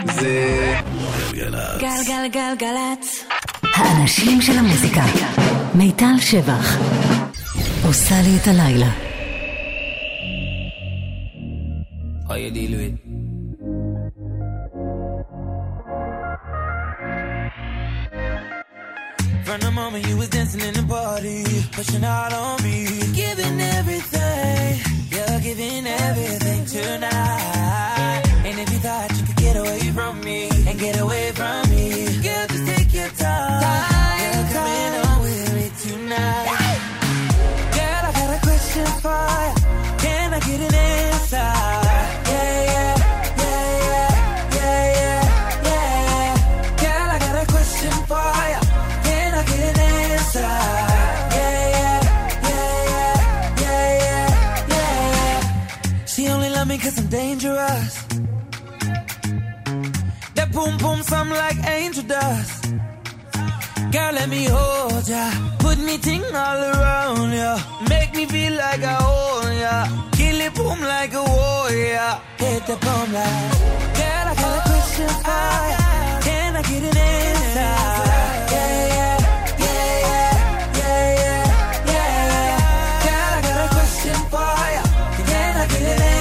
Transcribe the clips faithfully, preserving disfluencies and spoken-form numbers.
זה גלגלצ. גלגלגלגלצ. האנשים של המוזיקה. מיטל שבח עושה לי את הלילה. How you deal with? From the moment you was dancing in the party, pushing out on me, giving everything, you're giving everything tonight. And if you thought you could get away from me and get away from me, girl, just take your time. You're coming on with me tonight. Girl, I got a question for you. Can I get an answer? Cause I'm dangerous. That boom boom sound like angel dust. Girl, let me hold ya. Put me ting all around ya. Make me feel like I own ya. Kill it boom like a warrior. Hit the boom like. Girl, I got a question for ya. Can I get an answer? Yeah, yeah, yeah, yeah, yeah, yeah, yeah. Girl, I got a question for ya. Can I get an answer?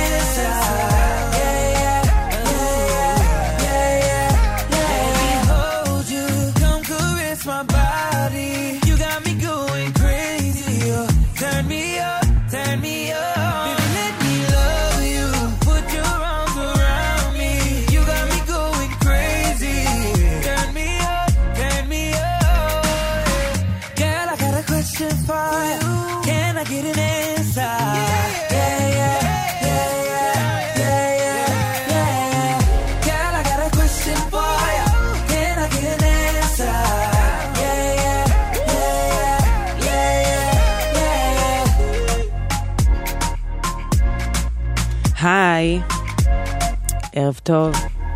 היי, ערב טוב.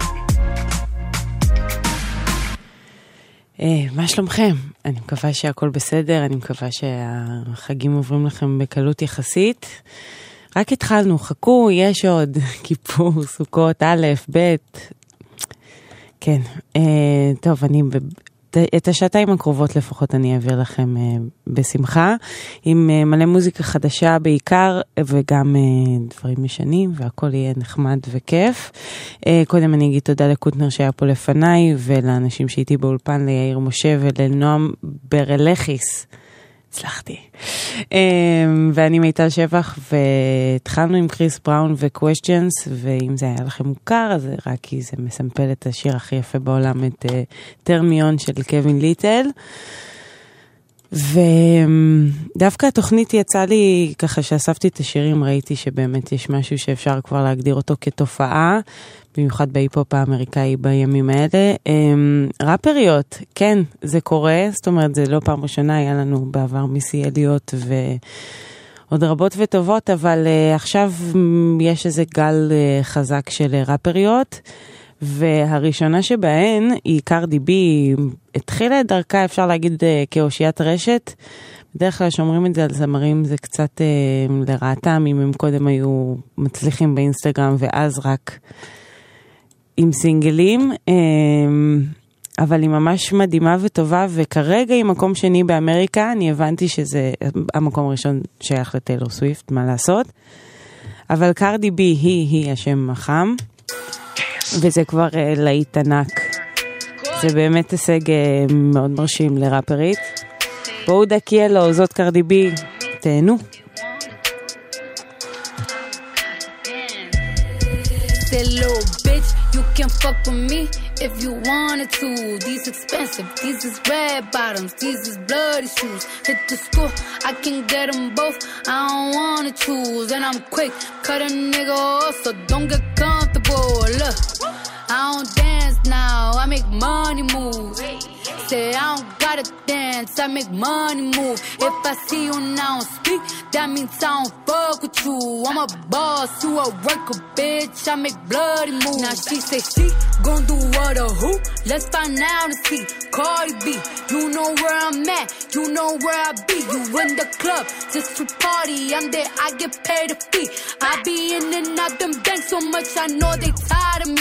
אה, מה שלומכם? אני מקווה שהכל בסדר, אני מקווה שהחגים עוברים לכם בקלות יחסית. רק התחלנו, חכו, יש עוד כיפור, סוכות, א', ב'. כן, אה, טוב, אני... את השעתיים הקרובות לפחות אני אעביר לכם uh, בשמחה, עם uh, מלא מוזיקה חדשה בעיקר, וגם uh, דברים משנים, והכל יהיה נחמד וכיף. Uh, קודם אני אגיד תודה לקוטנר שהיה פה לפניי, ולאנשים שהייתי באולפן, ליאיר משה ולנועם ברלכיס. הצלחתי. Um, ואני מיטל שבח, והתחלנו עם קריס בראון ו-Questions, ואם זה היה לכם מוכר, אז רק כי זה מסמפל את השיר הכי יפה בעולם, את uh, טרמיון של קווין ליטל. ודווקא התוכנית יצא לי, ככה שאספתי את השירים, ראיתי שבאמת יש משהו שאפשר כבר להגדיר אותו כתופעה, במיוחד בהיפופ האמריקאי בימים האלה. ראפריות, כן, זה קורה, זאת אומרת, זה לא פעם ראשונה, היה לנו בעבר מיסי אליות ועוד רבות וטובות, אבל עכשיו יש איזה גל חזק של ראפריות, והראשונה שבהן היא קרדי בי, התחילה את דרכה, אפשר להגיד, כאושיית רשת. בדרך כלל שאומרים את זה על זמרים, זה קצת לרעתם, אם הם קודם היו מצליחים באינסטגרם, ואז רק עם סינגלים, אבל היא ממש מדהימה וטובה, וכרגע היא מקום שני באמריקה, אני הבנתי שזה המקום הראשון שייך לטיילור סוויפט, מה לעשות, אבל קרדי בי היא, היא השם החם, וזה כבר להיט ענק, זה באמת הישג מאוד מרשים לראפרית. בואו דקיה לו, זאת קרדי בי, תהנו. You can fuck with me if you wanted to. These expensive, these is red bottoms, these is bloody shoes. Hit the school, I can get them both, I don't wanna choose. And I'm quick, cut a nigga off, so don't get comfortable. Look, I don't dance now, I make money moves. Say I don't gotta dance, I make money move. If I see you now speak, that means I don't fuck with you. I'm a boss, you a worker, bitch, I make bloody moves. Now she say she gon' do what or who? Let's find out and see. Cardi B, you know where I'm at, you know where I be. You in the club, just to party, I'm there, I get paid a fee. I be in and out them banks so much, I know they tired of me.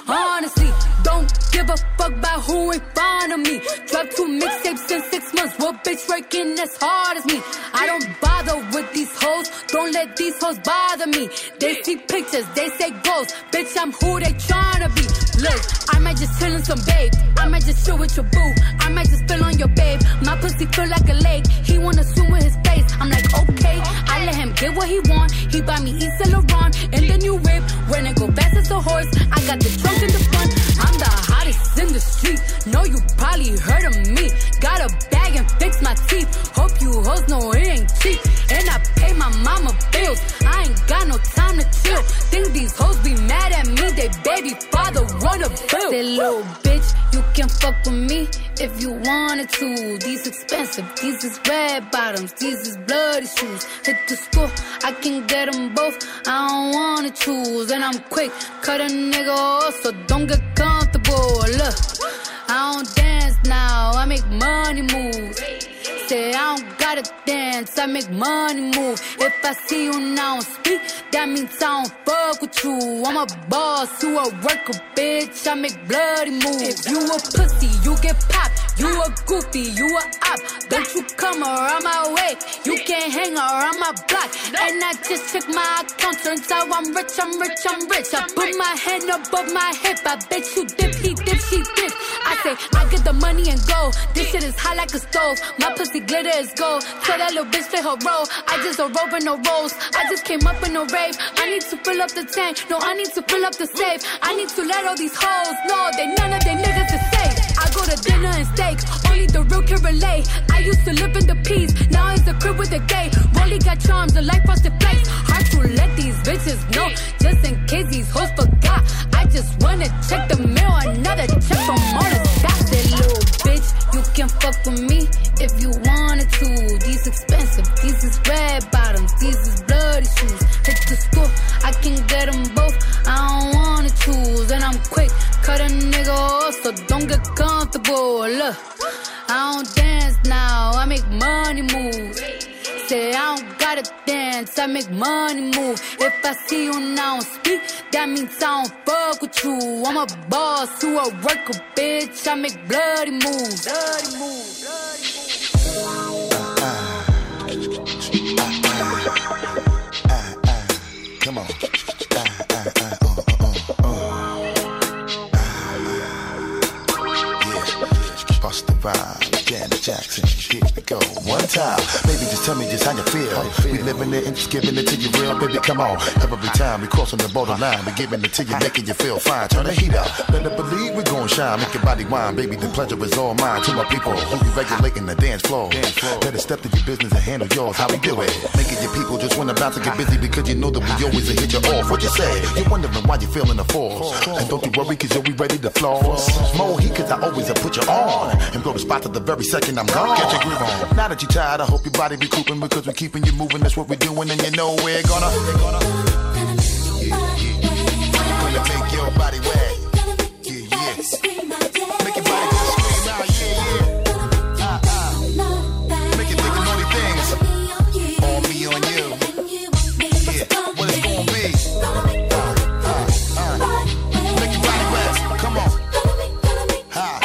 honestly. Don't give a fuck about who in front of me. Drop two mixtapes in six months. What bitch working as hard as me? I don't bother with these hoes. Don't let these hoes bother me. They see pictures, they say goals. Bitch, I'm who they tryna be. Look, I might just chill in some babe. I might just chill with your boo. I might just spill on your babe. My pussy feel like a lake. He wanna swim with his face. I'm like, okay. I let him get what he want. He buy me East Saint Laurent and the new whip. When it go fast as a horse, I got the trunk in the front. I'm the hottest in the street. Know you probably heard of me. Got a bag and fix my teeth. Hope you hoes know it ain't cheap. And I pay my mama bills. I ain't got no time to chill. Think these hoes be mad at me. They baby father wanna bill. Say little bitch, you can fuck with me if you wanted to. These expensive, these is red bottoms, these is bloody shoes. Hit the store, I can get them both. I don't wanna choose, and I'm quick, cut a nigga off, so don't get comfortable. Look, I don't dance now, I make money move. Say I don't gotta dance, I make money move. If I see you now speak, that means I don't fuck with you. I'm a boss, you a worker, bitch, I make bloody moves. If you a pussy, you get popped. You a goofy, you a op. Don't you come around my way. You can't hang around my block. And I just check my account. Turns out I'm rich, I'm rich, I'm rich. I put my hand above my hip. I bet you dip, he dip, she dip. I say, I get the money and go. This shit is hot like a stove. My pussy glitter is gold. Tell that little bitch play her role. I just a rope and no rolls. I just came up in a rave. I need to fill up the tank. No, I need to fill up the safe. I need to let all these hoes know they none of they niggas is safe. I go to dinner and steak. Only the real can relate. I used to live in the peace. Now it's a crib with a gay. Rolly got charms, the life frosted flakes. Hard to let these bitches know. Just in case these hoes forgot. I just wanna check the mail. Another check from all the stocks. That little bitch, you can fuck with me if you wanted to. These expensive, these is red bottoms, these is bloody shoes. Hit the store, I can get them both. I don't wanna choose, and I'm quick, cut a nigga off, so don't get comfortable. Look, I don't dance now, I make money move. Say I don't gotta dance, I make money move. If I see you now speak, that means I don't fuck with you. I'm a boss, you a worker, bitch. I make bloody moves. Bloody moves. Come on. Bust the vibe, Janet Jackson, here we go. One time, baby, just tell me just how you feel. How you feel. We living it and just giving it to you real, baby, come on. Every time we crossing the borderline, we giving it to you, making you feel fine. Turn the heat up, better believe we gon' shine. Make your body wine, baby, the pleasure is all mine. To my people who you regulating the dance floor. Dance floor. Better step to your business and handle yours, how we do it. Making your people just wanna bounce and get busy because you know that we always hit you off. What you say? You're wondering why you feeling the force. And don't you worry cause you'll be ready to floss. More heat cause I always have put you on. And blow the spot to the very second I'm gone. Get your groove on. Now that you're tired, I hope your body recouping because we're keeping you moving. That's what we're doing, and you know we're gonna. We're gonna, yeah, yeah. Gonna make your body wet. Yeah, yeah. Make your body just scream out. Yeah, yeah. Uh, uh. Make you think of naughty things. On me, on you. Yeah. What it's gonna be. Uh, uh, uh. Make your body wet. Come on. Ha.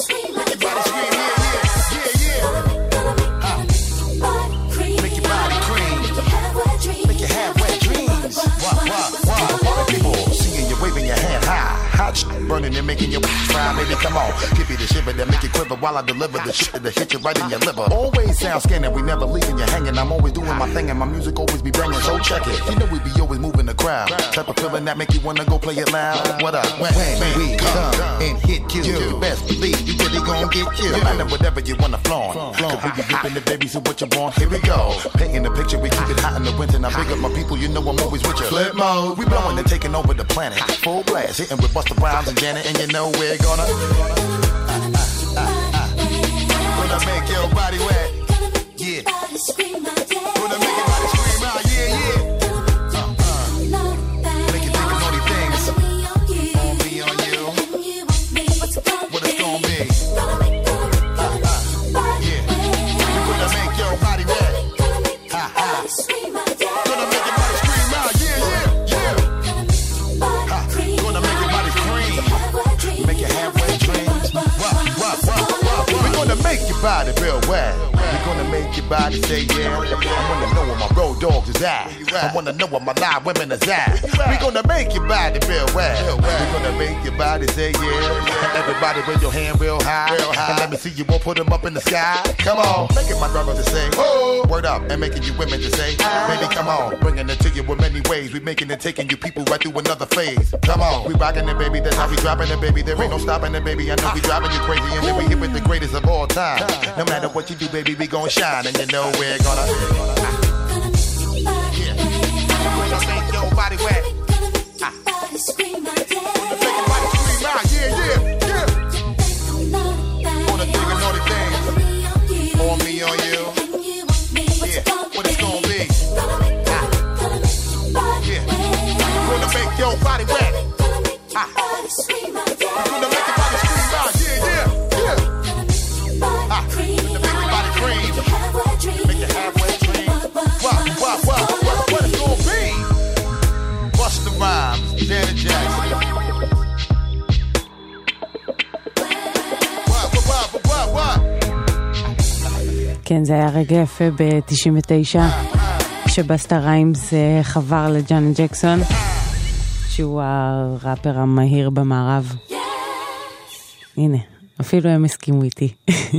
Burning and making your fry, baby, come on. Give me the shiver that make you quiver while I deliver the shit that hit you right in your liver. Always sound scanning, we never leaving you hanging. I'm always doing my thing and my music always be banging, so check it. You know we be always moving the crowd. Type of feeling that make you wanna go play it loud. What up? When, when we come and hit you, you best believe you really gon' get you. No matter whatever you wanna flaunt. Cause we be dipping the baby, so what you want? Here we go. Painting the picture, we keep it hot in the winter. Now big up my people, you know I'm always with you. Flip mode, we blowing and taking over the planet. Full blast, hitting with Busta Rhymes and Janet, and you know we're gonna uh, uh, uh, uh. Gonna make your body wet. Yeah. Gonna make your body scream out. Yeah, yeah. Uh, uh. Make you think of naughty things. On me, on you. What it's gonna be. Uh, uh. Yeah. Gonna make your body wet. Ha ha. Gonna make your body scream out. Yeah, yeah, yeah. Ha. Gonna make your body scream. body real wet. We gonna make your body say yeah. I wanna know where my road dogs is at. I wanna know where my live women is at. We gonna make your body real wet. We gonna make your body say yeah. Everybody with your hand real high. And let me see you all put them up in the sky. Come on, making my brothers to say oh, word up, and making you women to say baby come on, bringing it to you in many ways. We making it, taking you people right through another phase. Come on, we rocking it, baby. That's how we dropping it, baby. There ain't no stopping it, baby. I know we driving you crazy, and then we hit with the greatest of all time. No matter what you do, baby, we gon' shine, and you know we're gonna. Yeah, gonna make your body wet. Ah. Gonna make your body scream out. Yeah, yeah, yeah. Wanna think of naughty things on me, on you. Yeah, what it's gonna be. Ah. Yeah, gonna make your body wet. Ah. Gonna make your body scream out. Yeah, yeah, yeah. Ah. Gonna make your body cream. Make your halfway dream. What, what, what, what, what it's gonna be? Busta Rhymes, Janet Jackson. What, what, what, what, what? כן, זה היה רגע יפה ב-תשעים ותשע, שבסטה ריימס חבר לג'אנט ג'קסון, שהוא הראפר המהיר במערב. הנה, אפילו הם הסכימו איתי.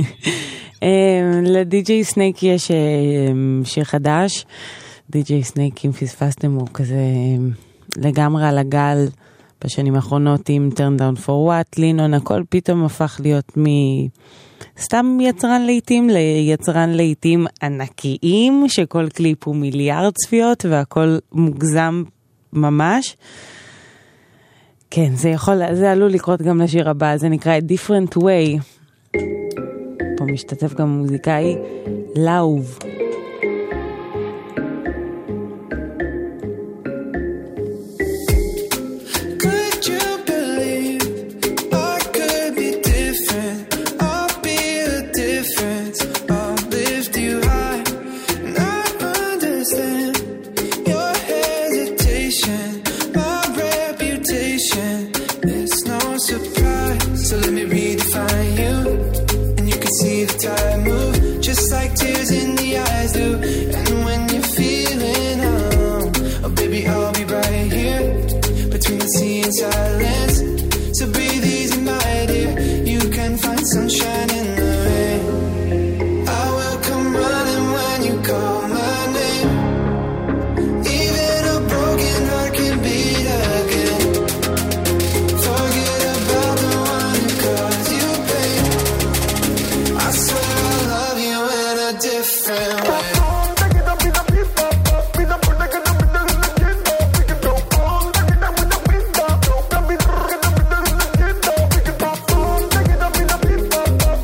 לדי-ג'יי סנייק יש שיר חדש. די-ג'יי סנייק, אם פספסתם, הוא כזה לגמרי על הגל בשנים האחרונות עם Turn Down for What, לינון, הכל פתאום הפך להיות מ... סתם יצרן לעיתים ליצרן לעיתים ענקיים, שכל קליפ הוא מיליארד צפיות והכל מוגזם ממש. כן, זה יכול, זה עלול לקרות גם לשיר הבא, זה נקרא Different Way. פה משתתף גם מוזיקאי לאוב. Bye.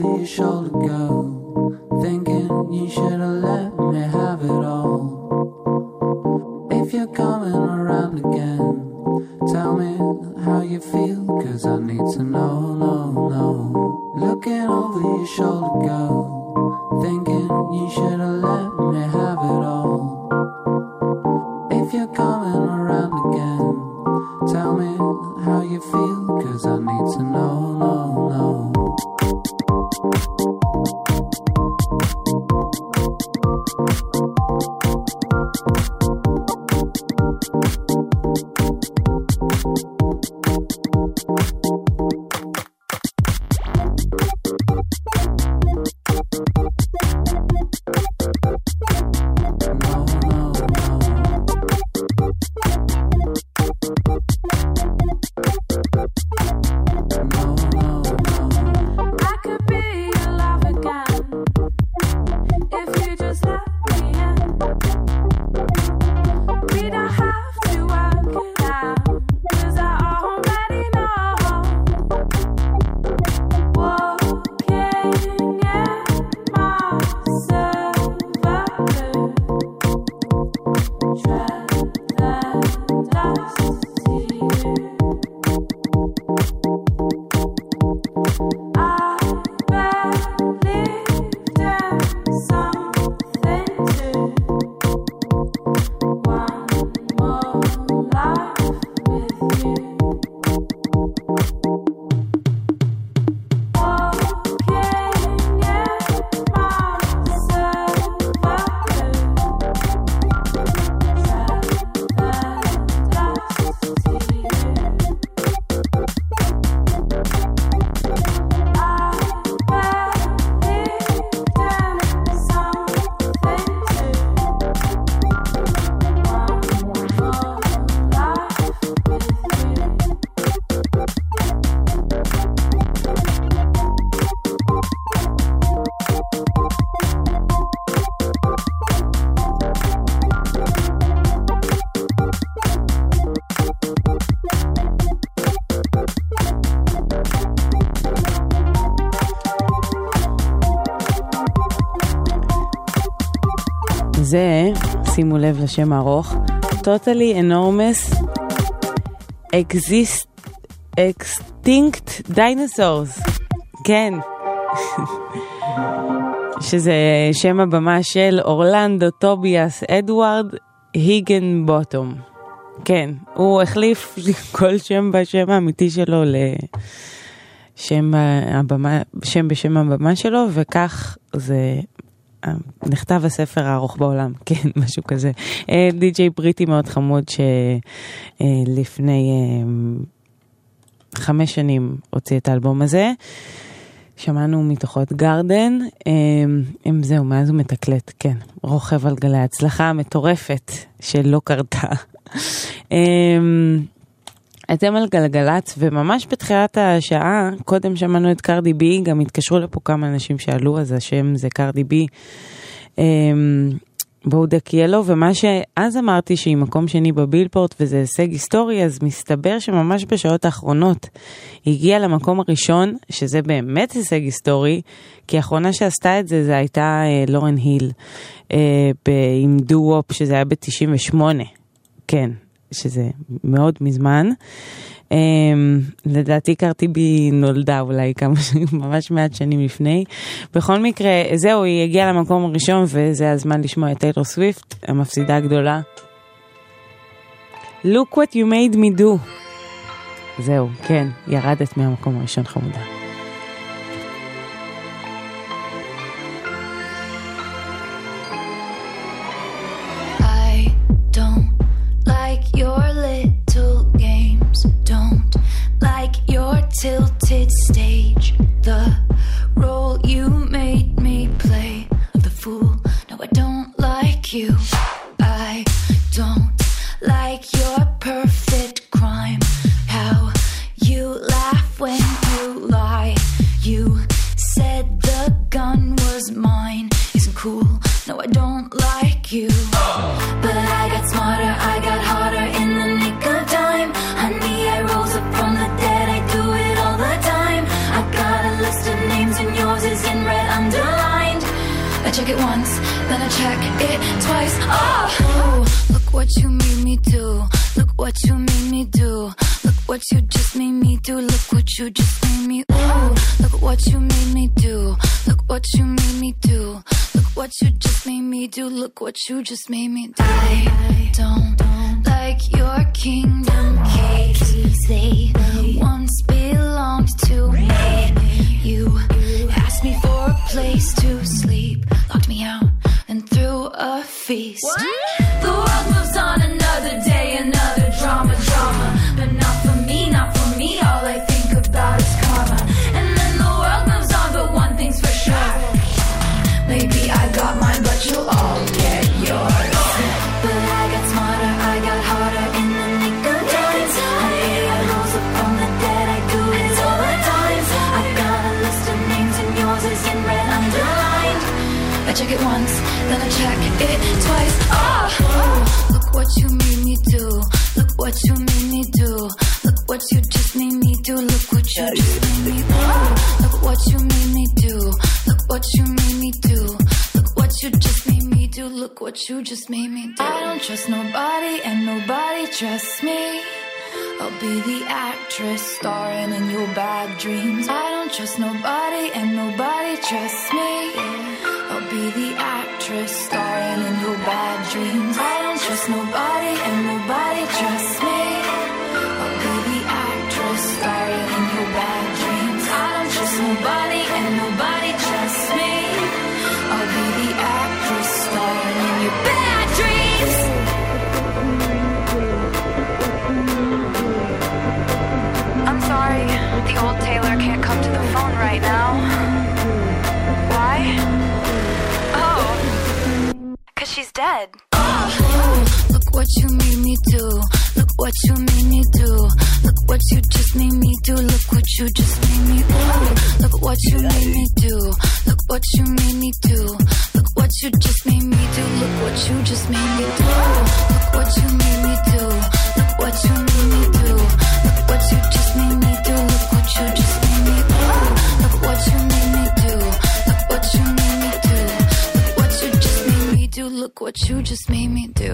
your shoulder, girl, thinking you should have let me have it all. If you're coming around again, tell me how you feel, cause I need to know, no, no. Looking over your shoulder, girl, thinking you should have let me have it all. If you're coming around again, tell me how you feel, cause I need to know, no, no. זה, שימו לב לשם הארוך, Totally Enormous Exist, Extinct Dinosaurs. כן. שזה שם הבמה של אורלנדו טוביאס אדוארד היגן בוטום. כן, הוא החליף כל שם בשם האמיתי שלו לשם הבמה, שם בשם הבמה שלו, וכך זה נכתב הספר הארוך בעולם, כן, משהו כזה. די-ג'יי בריטי מאוד חמוד שלפני חמש שנים הוציא את האלבום הזה. שמענו מתוכו את גרדן, אם זהו, מאז הוא מתקלט, כן, רוכב על גלי ההצלחה המטורפת שלא קרתה. אתם על גלגלץ, וממש בתחילת השעה, קודם שמענו את קרדי בי, גם התקשרו לפה כמה אנשים שעלו, אז השם זה קרדי בי, בודק ילו, ומה שאז אמרתי שהיא מקום שני בבילפורט, וזה הישג היסטורי, אז מסתבר שממש בשעות האחרונות, היא הגיעה למקום הראשון, שזה באמת הישג היסטורי, כי האחרונה שעשתה את זה, זה הייתה לורן היל, עם דו-וופ, שזה היה ב-תשעים ושמונה, כן. שזה מאוד מזמן. Um, לדעתי קרתי בי נולדה אולי כמה שנים, ממש מעט שנים לפני. בכל מקרה, זהו, היא הגיעה למקום הראשון, וזה הזמן לשמוע את טיילור סוויפט, המפסידה הגדולה. Look what you made me do. זהו, כן, ירדת מהמקום הראשון חמודה. Your little games, don't like your tilted stage, the role you made me play of the fool. No, I don't like you. I don't like your perfect crime, how you laugh when you lie. You said the gun was mine, isn't cool. No, I don't like you. But I got smarter, I got harder in the nick of time. Honey, I rose up from the dead, I do it all the time. I got a list of names and yours is check it once, then I check it twice. Oh, oh, look what you made me do. Look what you made me do. Look what you just made me do. Look what you just made me. Ooh, look what you made me do. Look what you made me do. Look what you just made me do. Look what you just made me do. I don't like your kingdom keys. They once belonged to me. You asked me for a place to sleep, locked me out, and threw a feast. What? The world moves on, another day, another drama, drama. But not for me, not for me. All I think about is karma. And then the world moves on, but one thing's for sure. Maybe I got mine, but you'll all get yours. But I got smarter, I got harder in the nick of time. Honey, I rose up from the dead, I do it all the time. I got a list of names and yours is in red underlined. I check it once, then I check it twice. Oh, oh, look what you made me do. Look what you made me do. Look what you just made me do. Look what you just made me do. Look what you made me do. Look what you made me do. Look what you just made me do. Look what you just made me do. I don't trust nobody and nobody trusts me. I'll be the actress starring in your bad dreams. I don't trust nobody and nobody trusts me. I'll be the actress starring in your bad dreams. I don't trust nobody and nobody trusts me. I'll be the actress starring in your bad dreams. I don't trust nobody and nobody trusts me. I'll be the actress starring in your bad dreams. I'm sorry, the old Taylor can't come to the phone right now. Why? Oh, 'cause she's dead. Oh, oh, look what you made me do. Look what you made me do. Look what you just made me do. Look what you just made me do. Look what you made me do. Look what you made me do. Look what you just made me do. Look what you just made me do. Look what you made me do. Look what you made me do. Look what you just made me do. Look what you just made me do. Look what you made me do. Look what you made me do. Look what you just made me do. Look what you just made me do.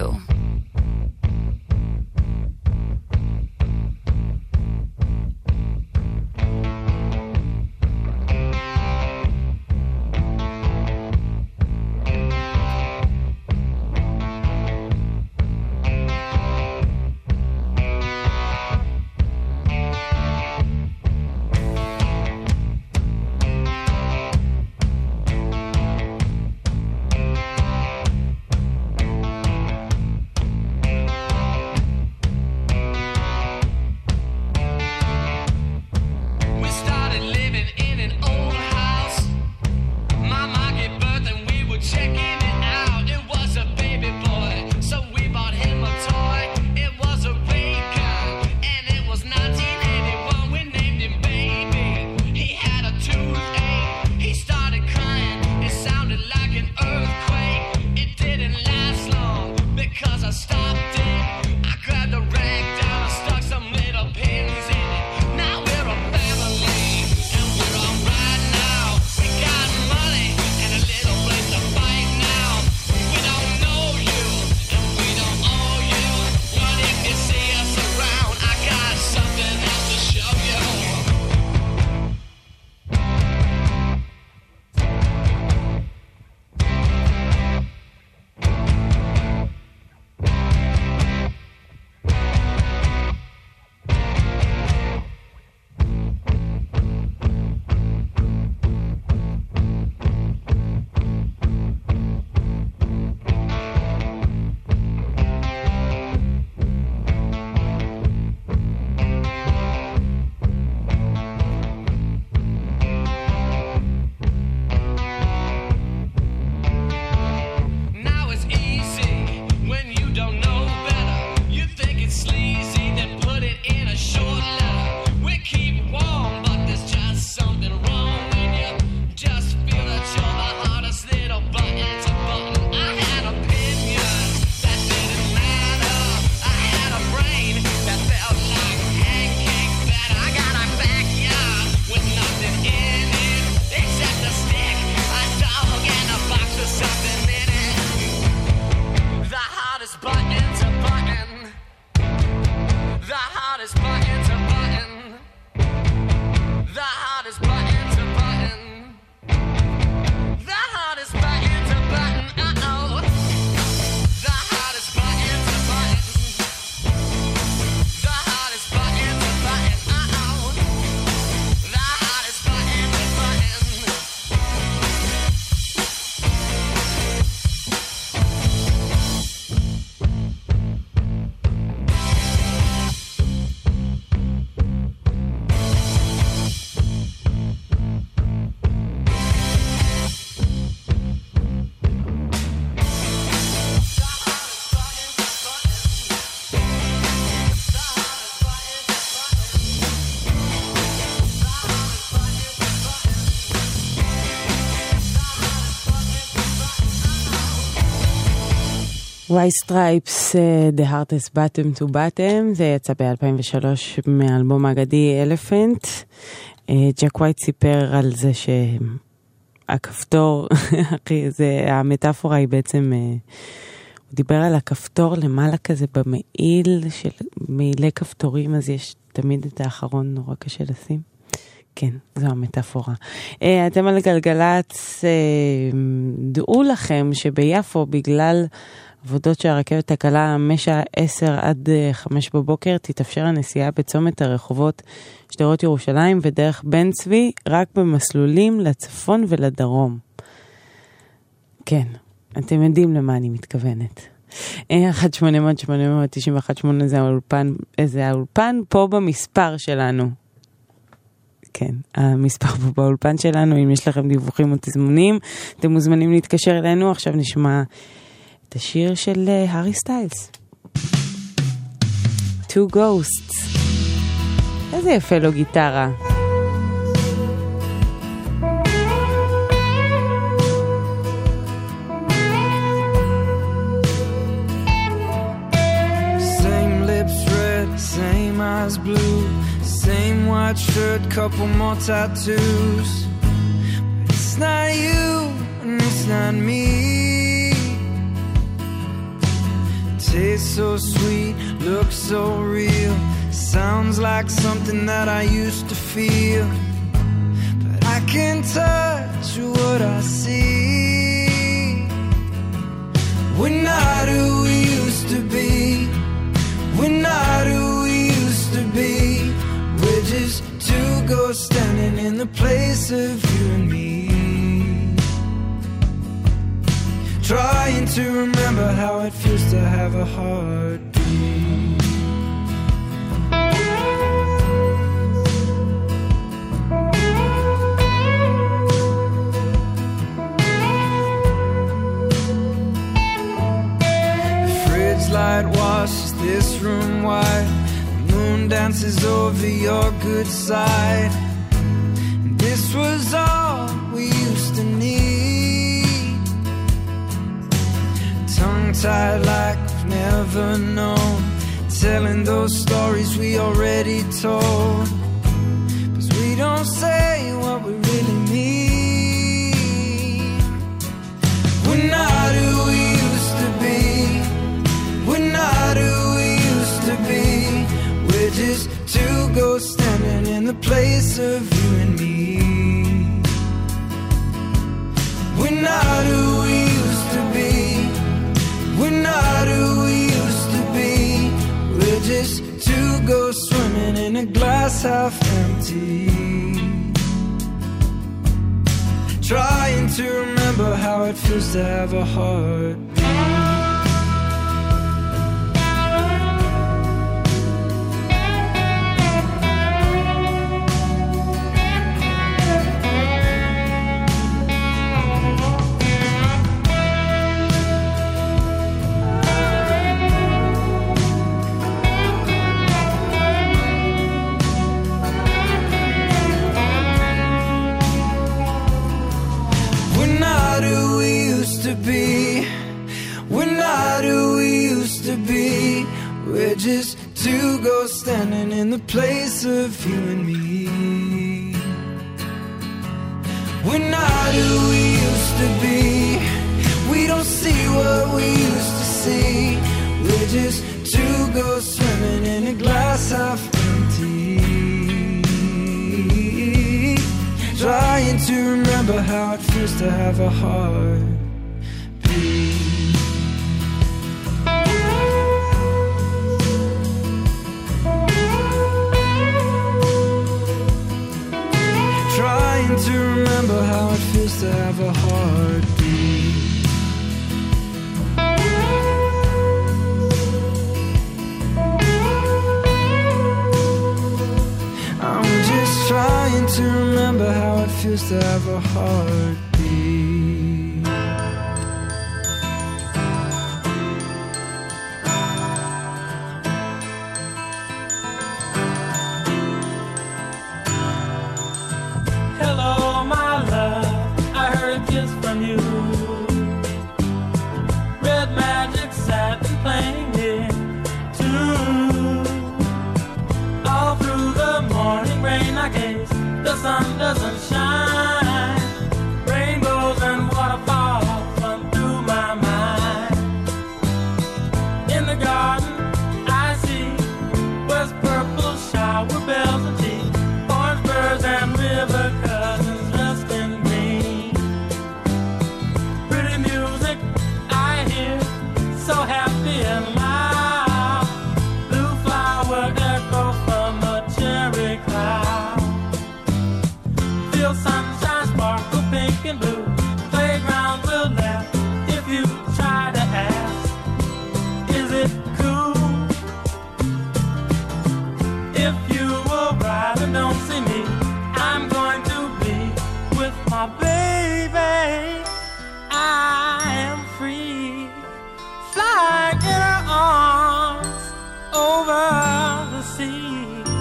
White Stripes, uh, The Hardest Bottom to Bottom, זה יצא ב-אלפיים ושלוש מאלבום האגדי Elephant. uh, ג'ק ווייט סיפר על זה שהכפתור, זה, המטאפורה היא בעצם, uh, הוא דיבר על הכפתור למעלה כזה במעיל של מעילי כפתורים, אז יש תמיד את האחרון נורא קשה לשים. כן, זו המטאפורה. Uh, אתם על גלגלץ, uh, דעו לכם שביפו בגלל עבודות שהרכבת הקלה משעה עשר עד חמש בבוקר תתאפשר הנסיעה בצומת הרחובות שדרות ירושלים ודרך בן צבי רק במסלולים לצפון ולדרום. כן, אתם יודעים למה אני מתכוונת. אחת שמונה אפס אפס שמונה תשע אחת שמונה זה האולפן, זה האולפן פה במספר שלנו. כן, המספר פה באולפן שלנו, אם יש לכם דיווחים או תזמונים, אתם מוזמנים להתקשר אלינו. עכשיו נשמע את השיר של הארי סטיילס. Two Ghosts. איזה יפה לו גיטרה. Same lips red, same eyes blue, same white shirt, couple more tattoos. But it's not you and it's not me. Tastes so sweet, looks so real, sounds like something that I used to feel. But I can't touch what I see. We're not who we used to be. We're not who we used to be. We're just two ghosts standing in the place of you and me. Trying to remember how it feels to have a heartbeat. The fridge light washes this room white. The moon dances over your good side. And this was all we used to need. Tongue-tied like we've never known, telling those stories we already told. 'Cause we don't say what we really mean. We're not who we used to be. We're not who we used to be. We're just two ghosts standing in the place of you and me. We're not who we used to be. We're not who we used to be. We're just two ghosts swimming in a glass half empty. Trying to remember how it feels to have a heart. Just two ghosts standing in the place of you and me. We're not who we used to be. We don't see what we used to see. We're just two ghosts swimming in a glass half empty. Trying to remember how it feels to have a heart. To remember how it feels to have a heartbeat. I'm just trying to remember how it feels to have a heartbeat. From you, red magic side. sun doesn't shine, rainbows and waterfalls run through my mind. In the garden I see west purple shower bells and tea, orange birds and river cousins dressed in green. Pretty music I hear, so happy and loud, blue flower echo from a cherry cloud. Feel sunshine sparkle pink and blue, playground will laugh if you try to ask, is it cool? If you arrive and don't see me, I'm going to be with my baby. I am free, flying in her arms over the sea.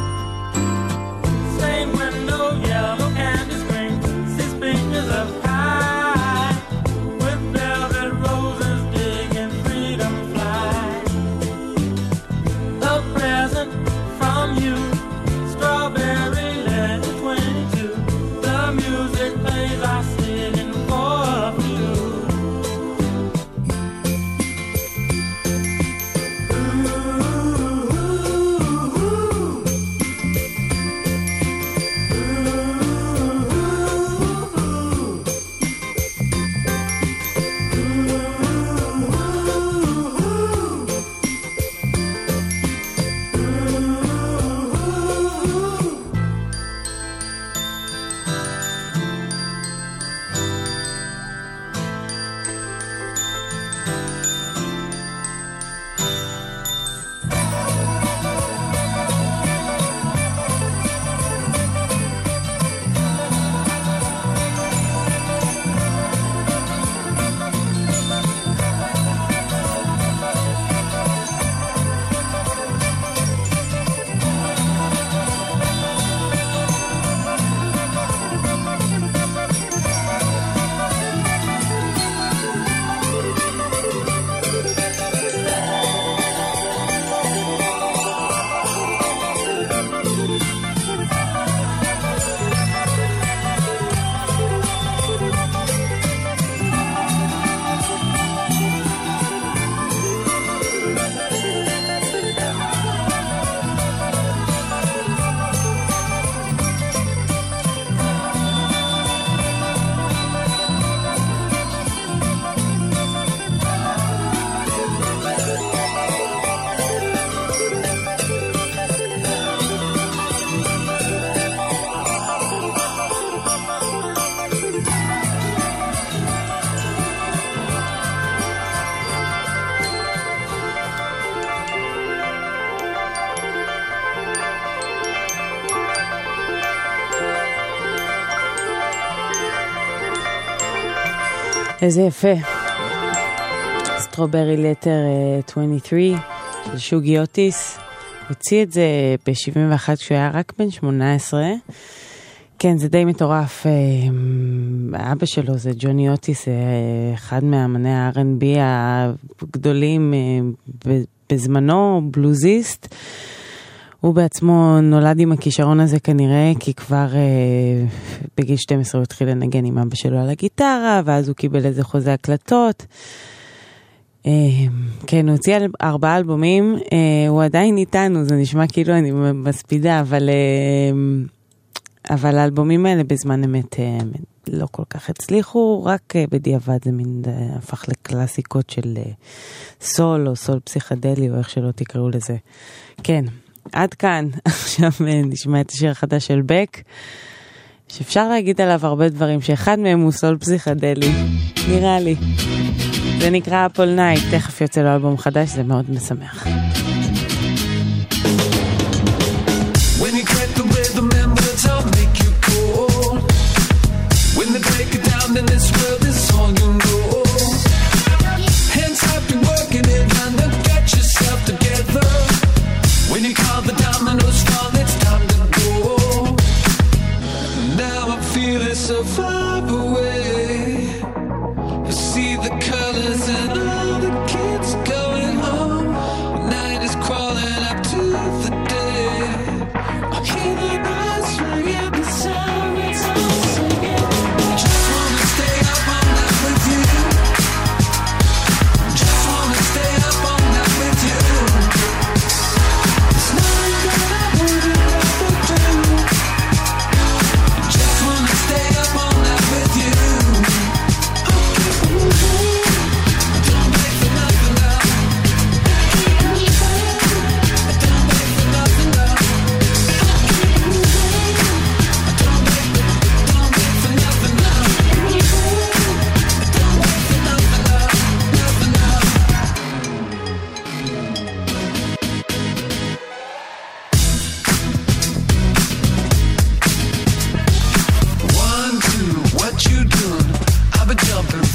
Stained window, yellow candy screen, six fingers of pie, with velvet roses big and freedom fly. A present from you, strawberry letter twenty-two. The music plays, I sit in for a few. איזה יפה. סטרוברי לטר עשרים ושלוש של שוגי אוטיס. הוציא את זה ב-שבעים ואחת כשהוא היה רק בן שמונה עשרה. כן, זה די מטורף. אבא שלו זה ג'וני אוטיס, אחד מאמני ה-אר אנד בי הגדולים בזמנו, בלוזיסט. הוא בעצמו נולד עם הכישרון הזה כנראה, כי כבר אה, בגיל שתים עשרה הוא התחיל לנגן עם אבא שלו על הגיטרה, ואז הוא קיבל איזה חוזה הקלטות. אה, כן, הוא הוציא ארבעה אלבומים, אה, הוא עדיין איתנו, זה נשמע כאילו אני מספידה, אבל, אה, אבל האלבומים האלה בזמן אמת אה, לא כל כך הצליחו, רק אה, בדיעבד זה מין אה, הפך לקלאסיקות של אה, סול, או סול פסיכדלי, או איך שלא תקראו לזה. כן. עד כאן, עכשיו נשמע את השיר החדש של בק, שאפשר להגיד עליו הרבה דברים, שאחד מהם הוא סול פסיכדלי, נראה לי. זה נקרא אפול נייט, תכף יוצא לו אלבום חדש, זה מאוד משמח. When you crack the rhythm and words I'll make you cold. When they break it down then this world is all you know. Hands up, you're working it and then get yourself together. When you call the dominoes fall, it's time to go. Now I'm feeling so far away. I see the colors and all the kids going home. Night is crawling up to the day. I hear the birds ringing the sirens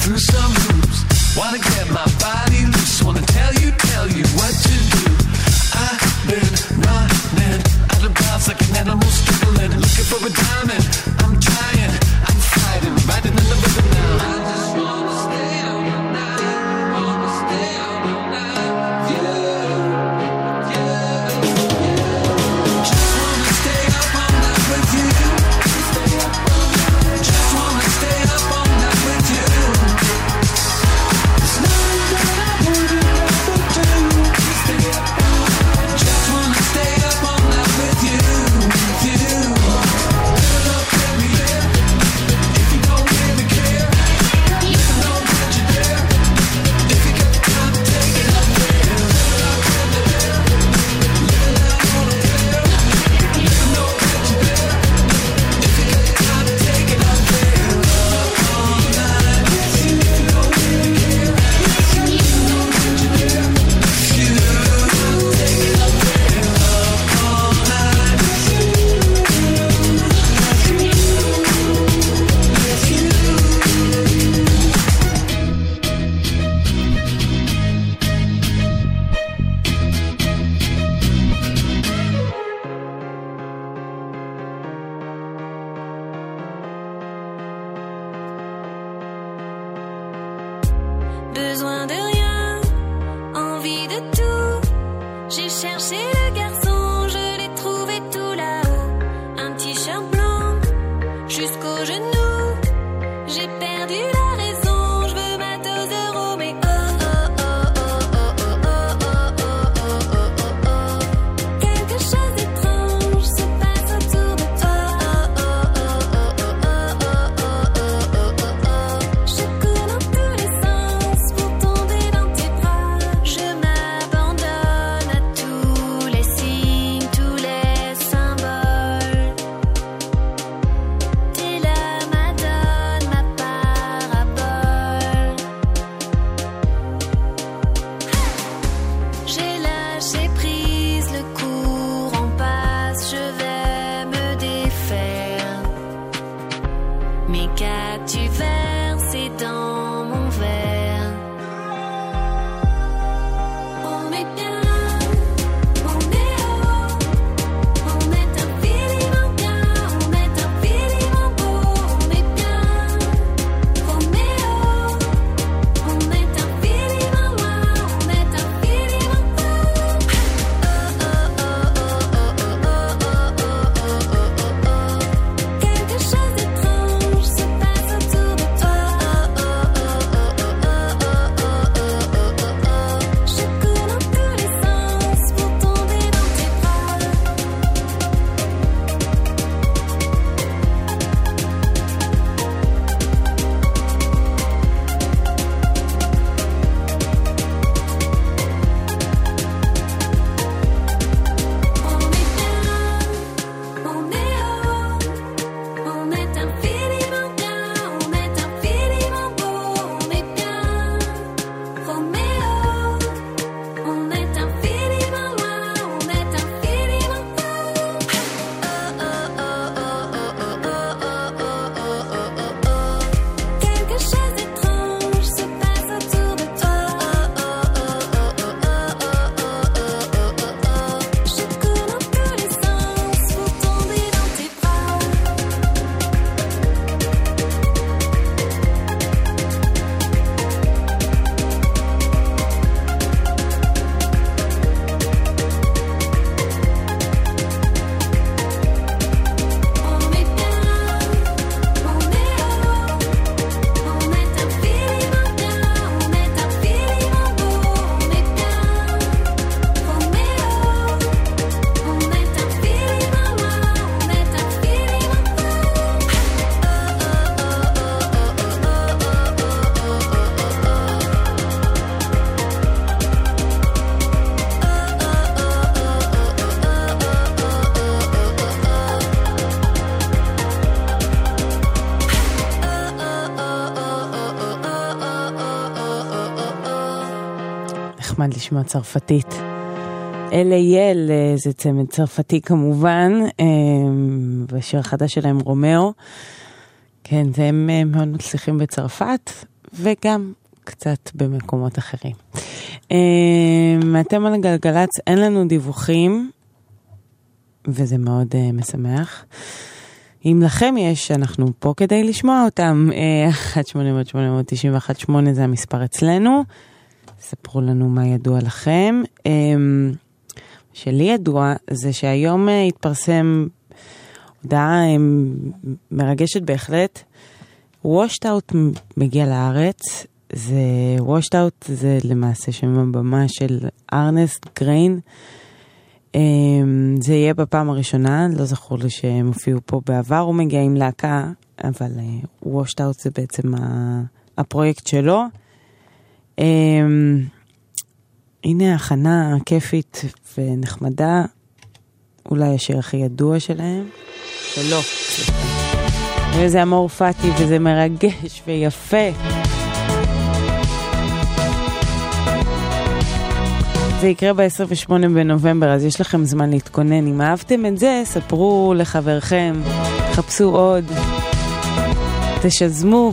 through some hoops. Wanna get my body loose, wanna tell you, tell you what to do. I've been running out of bounds like an animal struggling, looking for a diamond. I'm trying, I'm fighting, riding in the rhythm now. I just wanna stay up all night, wanna stay up all night, yeah, yeah, yeah. Just wanna stay up all night with you. Stay up all night. Just wanna stay up all night with you. There's nothing that I wouldn't ever do. Stay up all night. Just wanna stay up all night with you, with you. Fill up every year. If you don't really care, let know that you're there. If you got time, take it up there. Fill up every year. Let it out on the fair. Let know that you're there. If you got time, take it up there. Up all night with you. If you don't really care, let know that you're there. If you take it up there. Up all night with you. Besoin de rien, envie de tout. J'ai cherché le garçon, je l'ai trouvé tout là-haut. Un t-shirt blanc jusqu'aux genoux. J'ai perdu la raison, je veux ma dose d'euros. Mais oh oh oh oh oh oh oh oh oh oh oh oh. Quelque chose d'étrange se passe autour de toi. Oh oh oh oh oh oh oh oh oh oh oh. Je cours dans tous les sens pour tomber dans tes bras. Je m'abandonne à tous les signes, tous les symboles. T'es la madone, ma parabole. J'ai lâché prise, le courant passe, je vais me défaire. Mais qu'as-tu versé dans mon verre? On est bien, on est haut, on est infiniment bien, on est infiniment beau, on est bien, Roméo, on est infiniment loin, on est infiniment beau. Oh oh oh oh oh oh oh oh oh oh oh. Quelque chose d'étrange se passe autour de toi. Oh oh oh oh oh oh oh oh oh oh. Je cours dans tous les sens pour tomber dans tes bras. On est bien, on est haut, on est infiniment bien, on est infiniment beau, on est bien, Roméo, on est infiniment loin, on est infiniment beau. Oh oh oh oh oh oh oh oh oh oh. Quelque chose d'étrange se passe autour de toi. Oh oh oh oh oh oh oh oh oh. Je cours dans tous les sens pour tomber dans tes bras. On est bien, on est haut, on est infiniment bien, on est infiniment beau, on est bien, Roméo, on est infiniment loin, on est infiniment beau. Oh oh oh נחמד לשמוע צרפתית. אל אייל זה צמד צרפתי כמובן, והשיר החדש שלהם רומאו. כן, הם מאוד מצליחים בצרפת, וגם קצת במקומות אחרים. אתם על גלגלץ, אין לנו דיווחים, וזה מאוד משמח. אם לכם יש, אנחנו פה כדי לשמוע אותם. אחת שמונה שמונה תשע אחת שמונה זה המספר אצלנו. ספרו לנו מה ידוע לכם. שלי ידוע זה שהיום התפרסם הודעה מרגשת בהחלט. Washed Out מגיע לארץ. זה Washed Out זה למעשה שם הבמה של ארנסט גריין. זה יהיה בפעם הראשונה, לא זכור לי שהם הופיעו פה בעבר, הוא מגיע עם להקה, אבל Washed Out זה בעצם הפרויקט שלו. הנה הכנה כיפית ונחמדה, אולי השיר הכי ידוע שלהם, שלא. וזה אמורפטי וזה מרגש ויפה. זה יקרה ב-עשרים ושמונה בנובמבר, אז יש לכם זמן להתכונן. אם אהבתם את זה, ספרו לחברכם, חפשו עוד, תשזמו.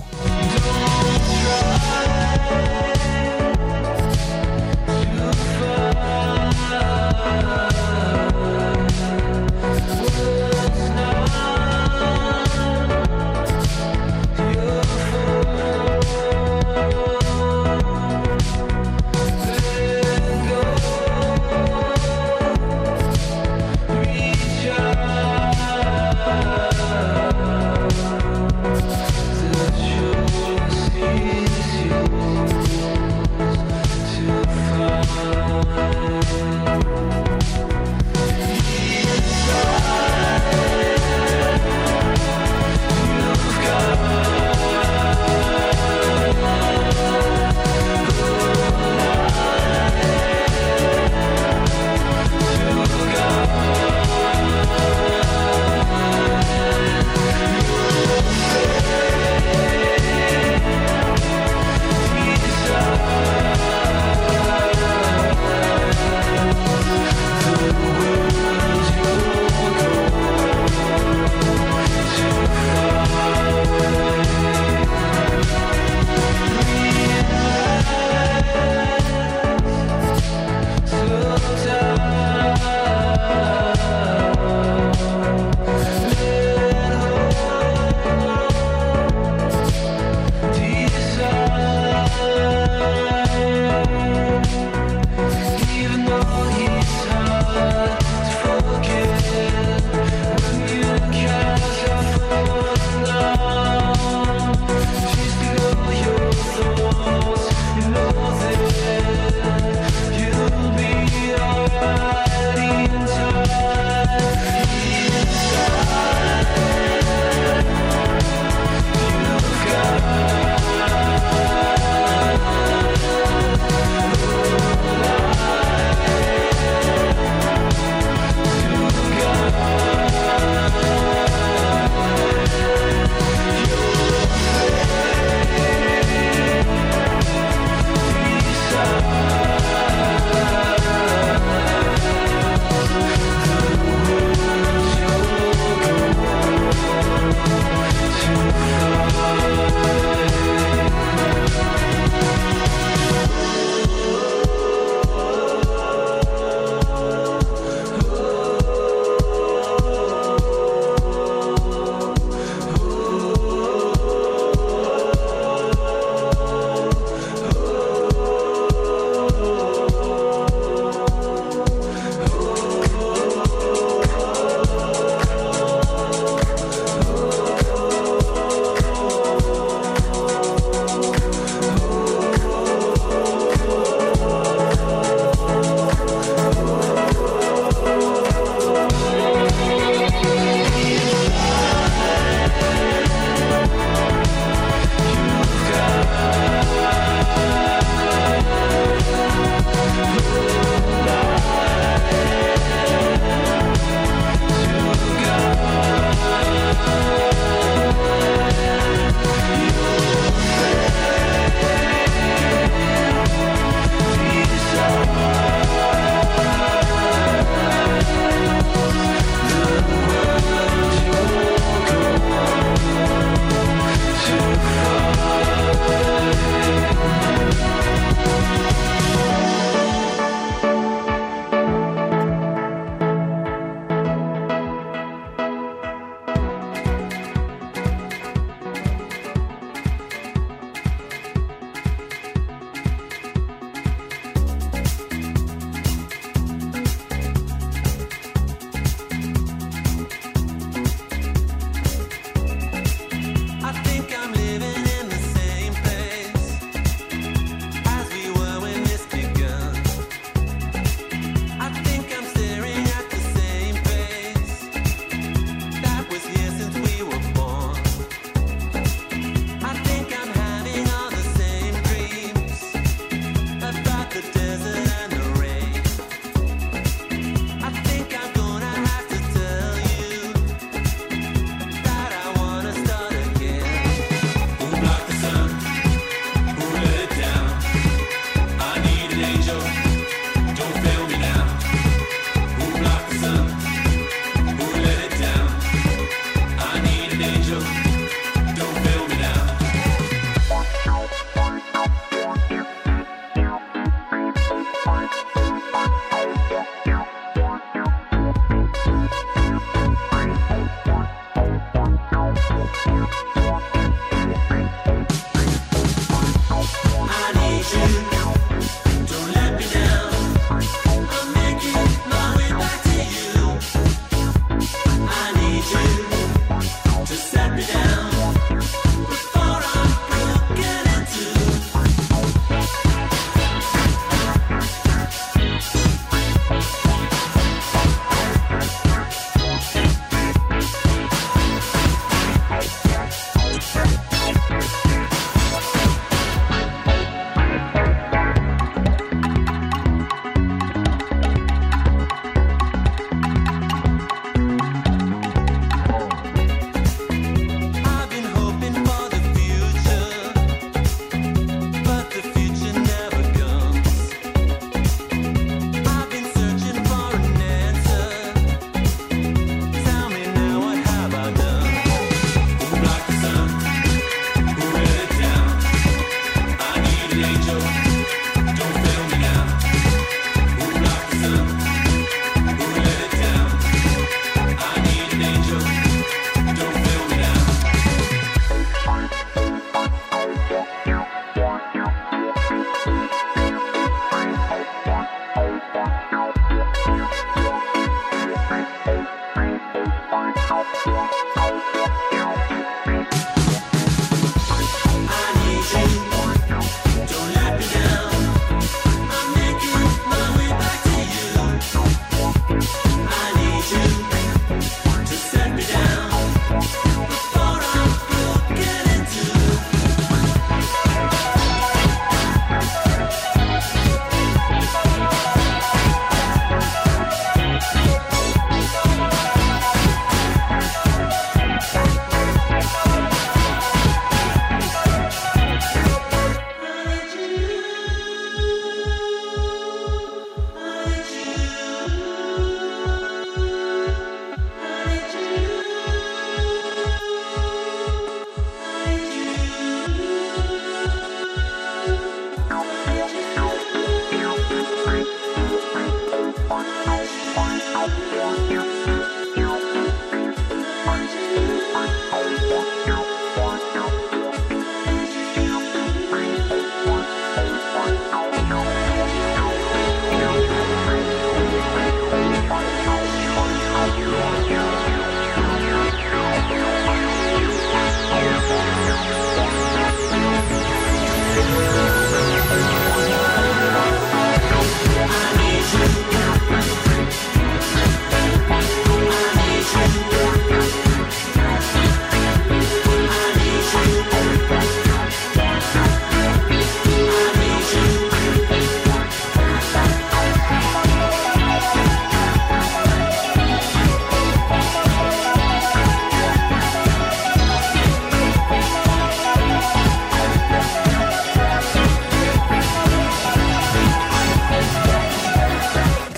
Sure.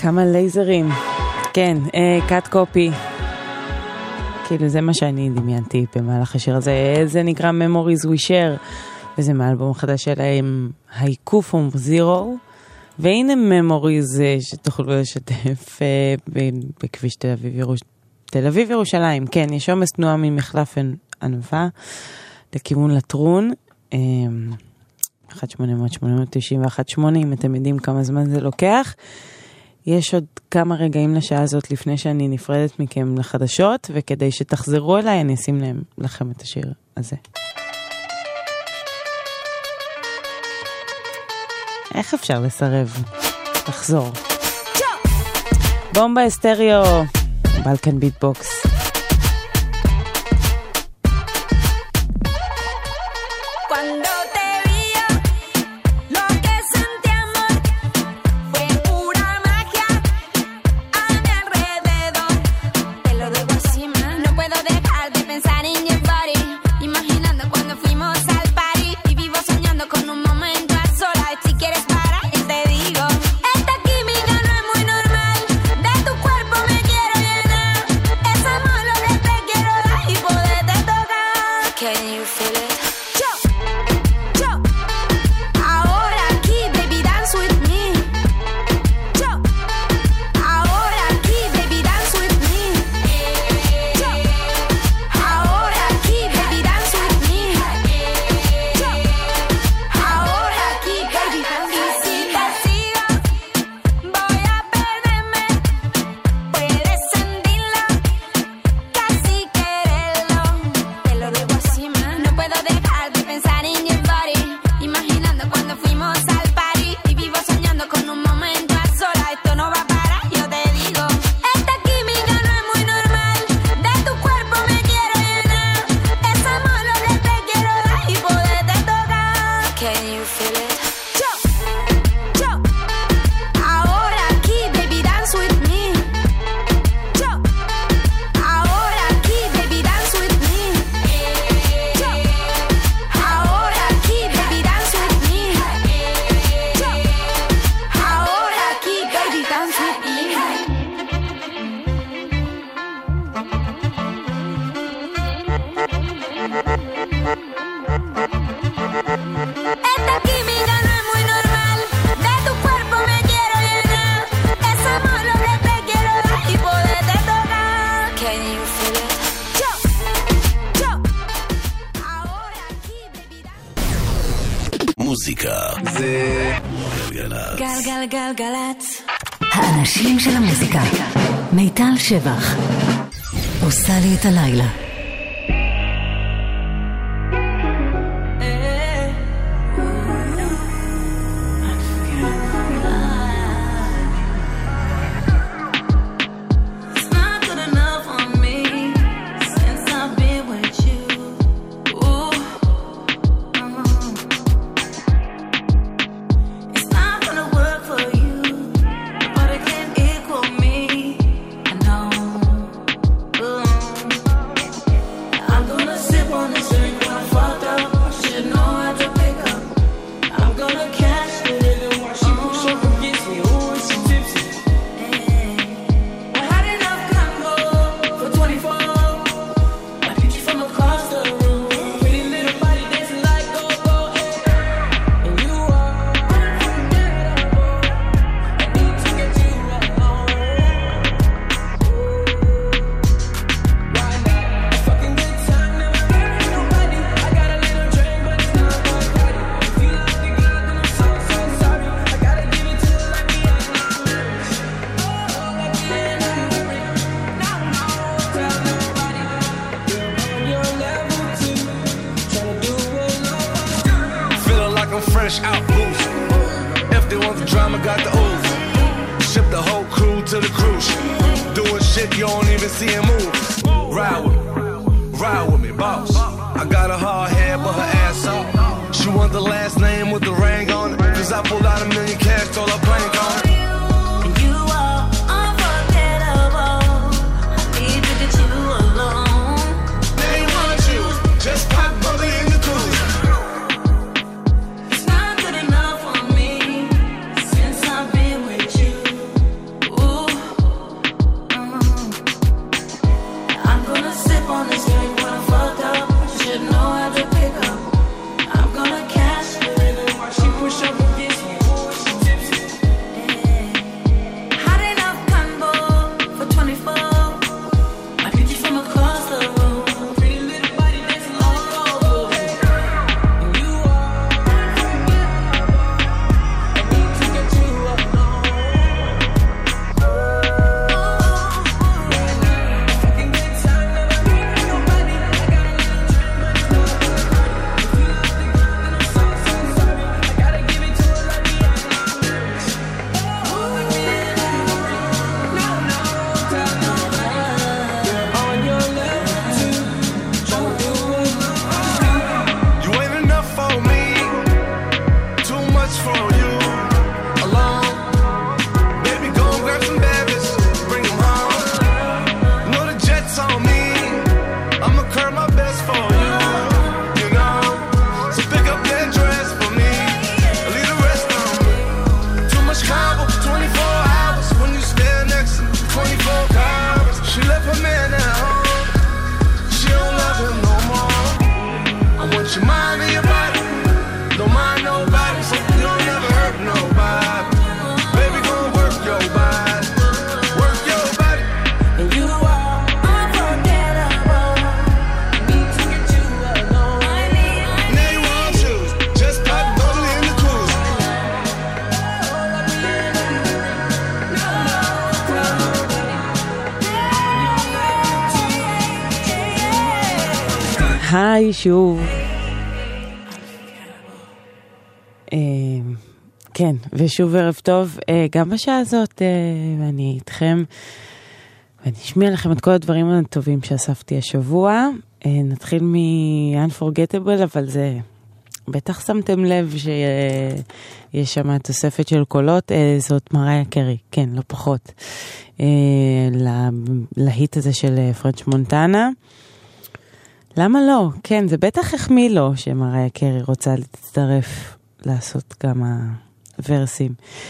כמה לייזרים. כן, קאט קופי. כאילו זה מה שאני דמיינתי במהלך השיר הזה. זה נקרא Memories We Share, וזה מהאלבום החדש שלהם, הייקו פום זירו. והנה Memories שתוכלו לשתף בכביש תל אביב ירושלים. תל אביב ירושלים, כן, יש עומס תנועה ממחלף ענווה לכיוון לטרון. אחת שמונה שמונה תשע אחת שמונה, אם אתם יודעים כמה זמן זה לוקח. יש עוד כמה רגעים לשעה הזאת לפני שאני נפרדת מכם לחדשות, וכדי שתחזרו אליי אני אשים להם לכם את השיר הזה. איך אפשר לסרב? תחזור. בומבה אסטריו, בלקן ביטבוקס. מוזיקה זה גלגלצ. גלגלגלגלצ. האנשים של המוזיקה. מיטל שבח עושה לי את הלילה. Ooh. היי שוב. כן, ושוב ערב טוב, גם בשעה הזאת, ואני איתכם, ואני אשמיע לכם את כל הדברים הטובים שאספתי השבוע. נתחיל מ-Unforgettable, אבל זה, בטח שמתם לב שיש שם תוספת של קולות, זאת מריה קרי, כן, לא פחות, להיט הזה של פרנץ' מונטנה. למה לא? כן, זה בטח החמיא לו שמריה קרי רוצה להצטרף לעשות כמה ורסים.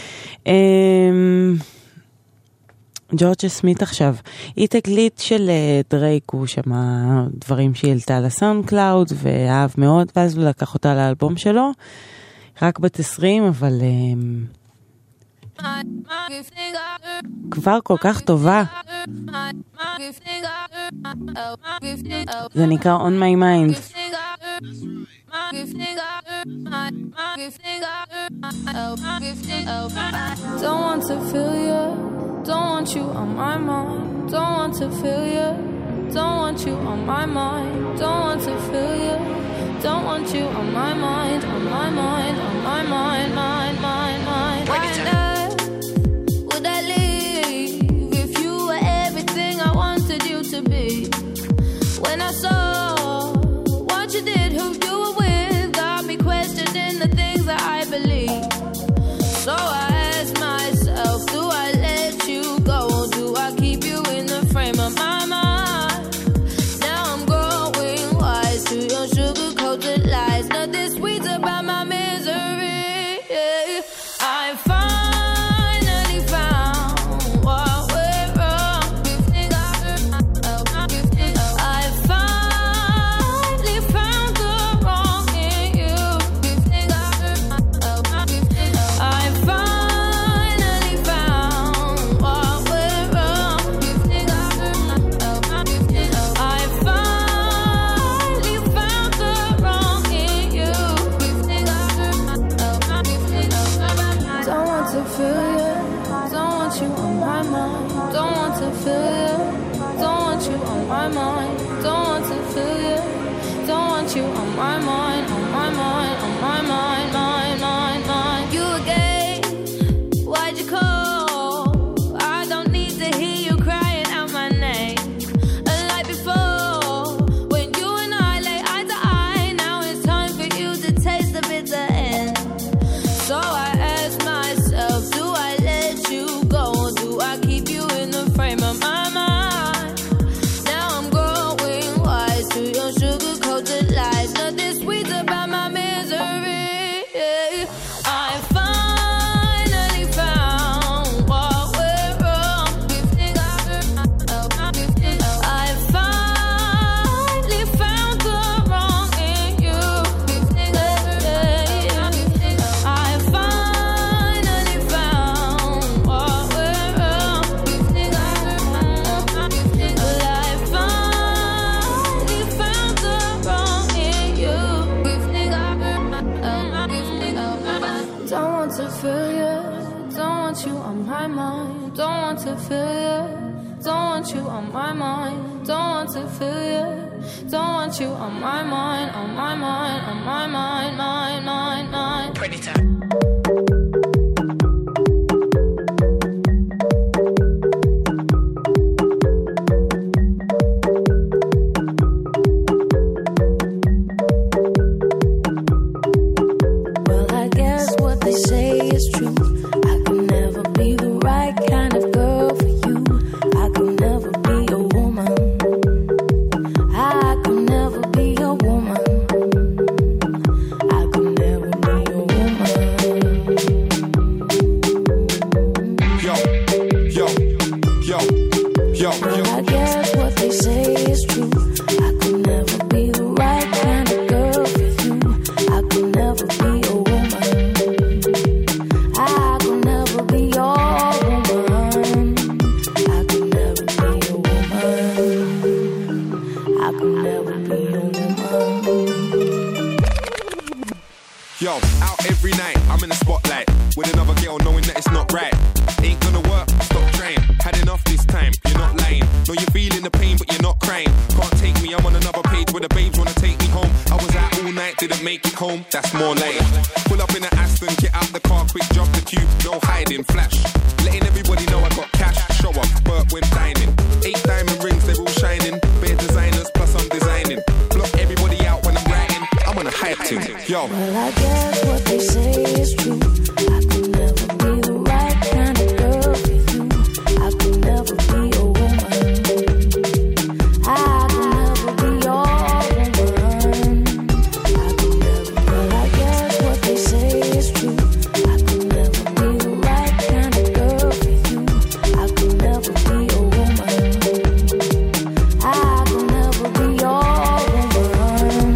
ג'ורג'ה סמית עכשיו. היא תקליט של דרייק, הוא שמע דברים שהיא העלתה לסאונד קלאוד ואהב מאוד, ואז הוא לקח אותה לאלבום שלו. רק בת עשרים, אבל כבר כל כך טובה. זה נקרא On My Mind. Don't want to feel you, don't want you on my mind. Don't want to feel you, don't want you on my mind. Don't want to feel you, don't want you on my mind, on my mind, on my mind, mind, mind, mind. Why not would I leave if you were everything I wanted you to be? When I saw what you did, who you were with, got me questioning the things that I believe. So I asked myself, do I let you go, or do I keep you in the frame of my mind? Now I'm growing wise to your sugar-coated lies. Nothing sweet about my misery. I finally found what went wrong. I finally found the wrong in you. I finally found what went wrong. I finally found the wrong in you. Don't want to feel you, don't want you on my mind. Don't want to feel you, don't want you on my mind. Don't want to feel you, don't want you on my mind, on my mind, on my mind, mind, mind, mind. You again, why'd you call? I don't need to hear you crying out my name. Unlike before, when you and I lay eye to eye, now it's time for you to taste the bitter end. So I ask myself, do I let you go, or do I keep you in the frame of my mind? Now I'm growing wise to your sugar-coated lies. Nothing sweet about my misery. I finally found what went wrong. I finally found the wrong in you. I finally found what went wrong. But I finally found the wrong in you. Don't want to feel you, don't want you on my mind. Don't want to feel you, don't want you on my mind. Don't want to feel you, don't want you on my mind, on my mind, on my mind, mind, mind, mind. Predator. Well, I guess what they say is true. I could never be the right kind of girl for you. I could never be a woman. I could never be a woman. I could never be a woman. Yo, yo, yo, yo, Well, I guess what they say is true. I could never be the right kind of girl for you. I could never be a woman. Out every night, I'm in the spotlight with another girl knowing that it's not right. Ain't gonna work, stop trying. Had enough this time, you're not lying. No, you're feeling the pain, but you're not crying. Can't take me, I'm on another page where the babes wanna take me home. I was out all night, didn't make it home, that's more like. Pull up in an Aston, get out the car, quick jump the queue, no hiding, flash. Letting everybody know I got cash, show up, Bert when dining. Eight diamond rings, they're all shining. Bare designers, plus I'm designing. Block everybody out when I'm writing, I'm on a hype team, yo. Well, I guess what they say is true. I could never be the right kind of girl for you. I could never be a woman. I could never be your woman. I could never, well, I guess what they say is true. I could never be the right kind of girl for you. I could never be a woman. I could never be your woman.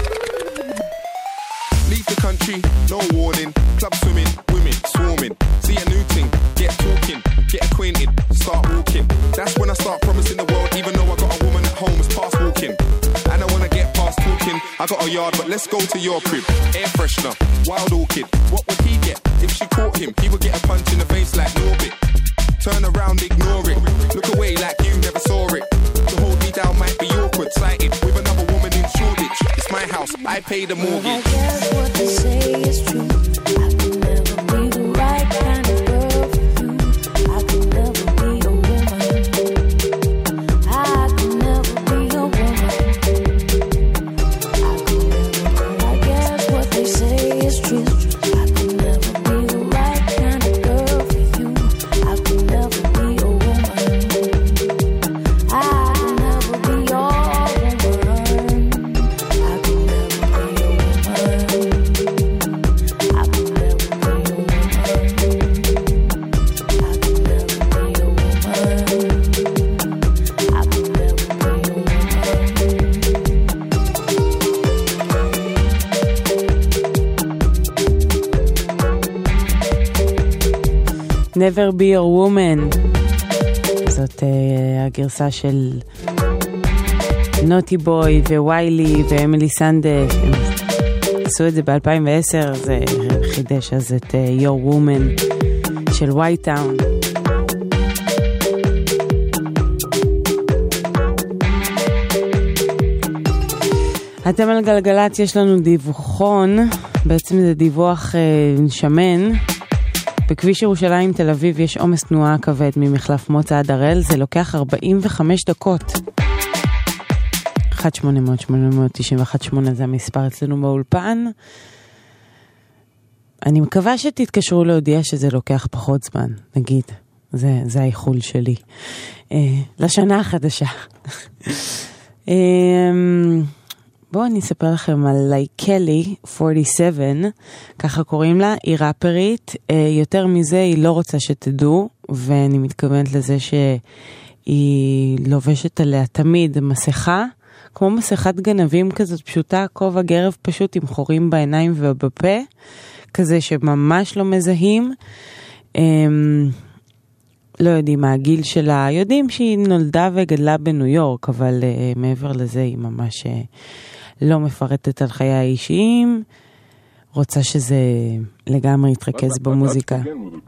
Leave the country, no warning. Club swimming, women swarming. See a new thing, get talking, get acquainted, start walking. That's when I start promising the world, even though I got a woman at home, it's past walking. And I wanna get past talking. I got a yard, but let's go to your crib. Air freshener, wild orchid. What would he get if she caught him? He would get a punch in the face like Norbit. Turn around, ignore it. Look away like you never saw it. To hold me down might be awkward. Sighted with another woman in Shoreditch. It's my house, I pay the mortgage. I guess what they say is true. I could never be the right kind of girl for you. I could never be a woman. I could never be a woman. I could never, I guess what they say is true. I could never be the right kind of girl for you. I could never be a woman. I could never be your woman. I could never be a woman. I could never be a woman. I could never be a woman. I could never be a woman. Never be your woman. זאת uh, הגרסה של נוטי בוי וויילי ואמילי סנדש. הם עשו את זה ב-אלפיים ועשר, זה חידש אז את uh, Your Woman של וייטאון. אתם על גלגלת, יש לנו דיווחון, בעצם זה דיווח uh, שמן. בכביש ירושלים תל אביב יש עומס תנועה כבד ממחלף מוצא עד הראל, זה לוקח ארבעים וחמש דקות. אחת שמונה אפס אפס שמונה תשע אחת שמונה זה המספר אצלנו באולפן. אני מקווה שתתקשרו להודיע שזה לוקח פחות זמן, נגיד. זה, זה האיחול שלי. אה, לשנה החדשה. אה, בואו אני אספר לכם על לייקלי ארבעים ושבע, ככה קוראים לה, היא ראפרית, יותר מזה היא לא רוצה שתדעו, ואני מתכוונת לזה שהיא לובשת עליה תמיד מסכה, כמו מסכת גנבים כזאת פשוטה, כובע גרב פשוט עם חורים בעיניים ובפה, כזה שממש לא מזהים, לא יודעים מה הגיל שלה, יודעים שהיא נולדה וגדלה בניו יורק, אבל uh, מעבר לזה היא ממש uh, לא מפרטת על חיי האישיים, רוצה שזה לגמרי יתרכז במוזיקה.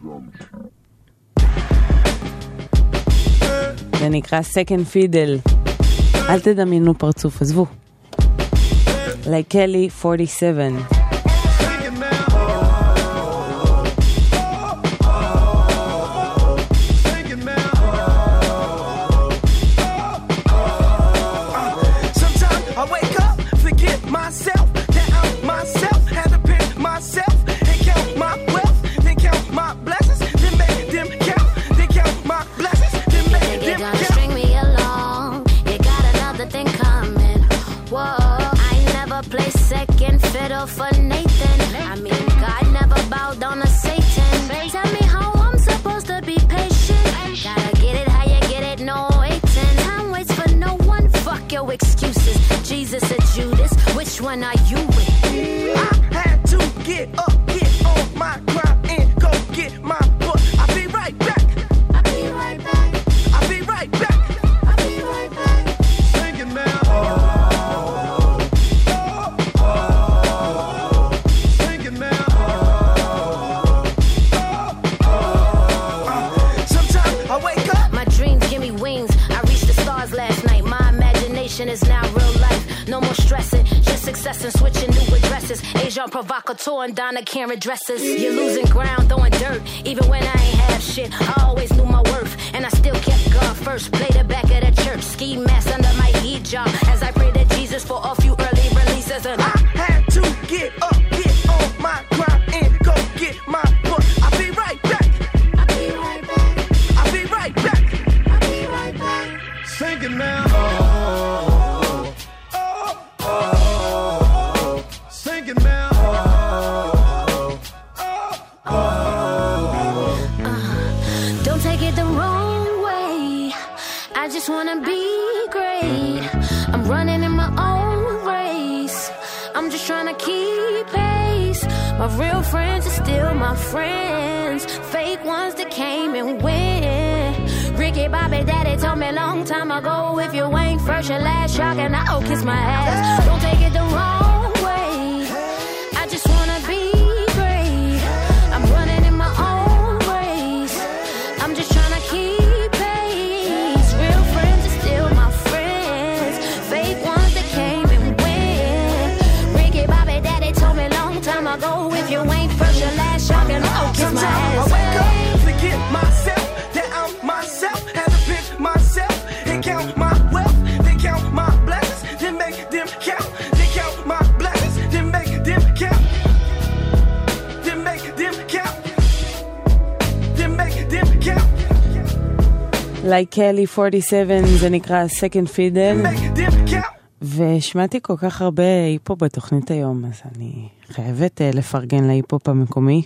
זה נקרא Second Fiddle. אל תדמיינו פרצוף, עזבו. לייקלי ארבעים ושבע. For success and switching new addresses. Agent provocateur and Donna Karen dresses. You're losing ground, throwing dirt, even when I ain't have shit. I always knew my worth, and I still kept God first. Played the back of the church, ski mask under my hijab, as I pray to Jesus for a few early releases. And I had to get up, get on my grind, and go get my book. I'll be right back. I'll be right back. I'll be right back. I'll be right back. Sing it now. Oh, oh, oh, oh. Sing it now. Oh, oh, oh. Uh, don't take it the wrong way. I just wanna be great. I'm running in my own race. I'm just trying to keep pace. My real friends are still my friends. Fake ones that came and went. Ricky Bobby Daddy told me a long time ago, if you ain't first, your last, y'all can I'll kiss my ass. Don't take it the wrong way. I just wanna be great. I'm running in my own race. I'm just trying to keep pace. Real friends are still my friends. Fake ones that came and went. Ricky Bobby Daddy told me a long time ago, if you ain't first, your last, y'all can I'll kiss my ass. I wake up, forget myself, that I'm myself. Had to pick myself and count my wealth. Then count my blessings, then make them count. Then count my blessings, then make them count. Then make them count. Then make them count. Like Kelly ארבעים ושבע, זה נקרא Second Fiddle. Make them count. ושמעתי כל כך הרבה היפ-הופ בתוכנית היום, אז אני חייבת uh, לפרגן להיפ-הופ המקומי.